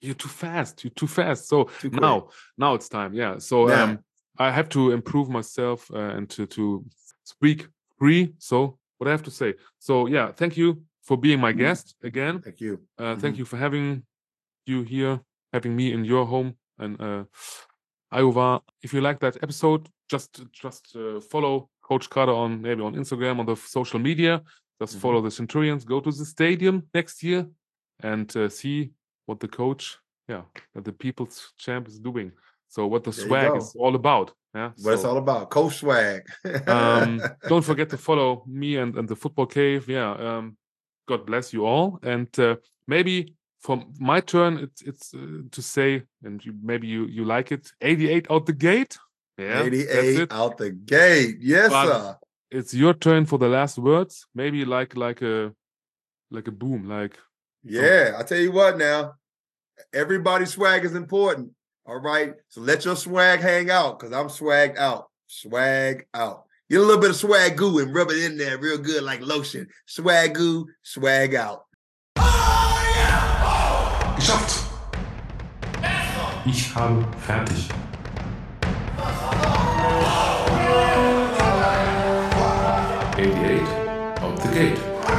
[SPEAKER 1] You're too fast. So now it's time. Yeah. So I have to improve myself and to speak free. So what I have to say. So yeah, thank you for being my guest again.
[SPEAKER 2] Thank you.
[SPEAKER 1] Thank you for having you here, having me in your home. And Iowa, if you like that episode, just follow Coach Carter on Instagram, on the social media. Just follow the Centurions. Go to the stadium next year and see what the coach, the People's Champ is doing. So what the swag is all about. Yeah,
[SPEAKER 2] what it's all about, Coach Swag.
[SPEAKER 1] Don't forget to follow me and the Football Cave. Yeah, God bless you all. And maybe for my turn, it's to say, and maybe you like it, 88 out the gate. Yeah,
[SPEAKER 2] 88 out the gate. Yes, sir.
[SPEAKER 1] It's your turn for the last words. Maybe like a boom, like.
[SPEAKER 2] Yeah, I tell you what now, everybody's swag is important. All right, so let your swag hang out, because I'm swagged out. Swag out. Get a little bit of swag goo and rub it in there real good like lotion. Swag goo, swag out.
[SPEAKER 1] Geschafft. Ich habe fertig. Out the gate.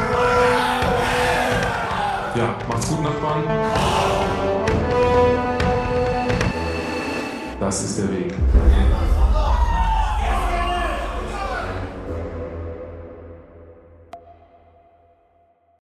[SPEAKER 1] Ja, macht's gut, Nachbarn. Das ist der Weg.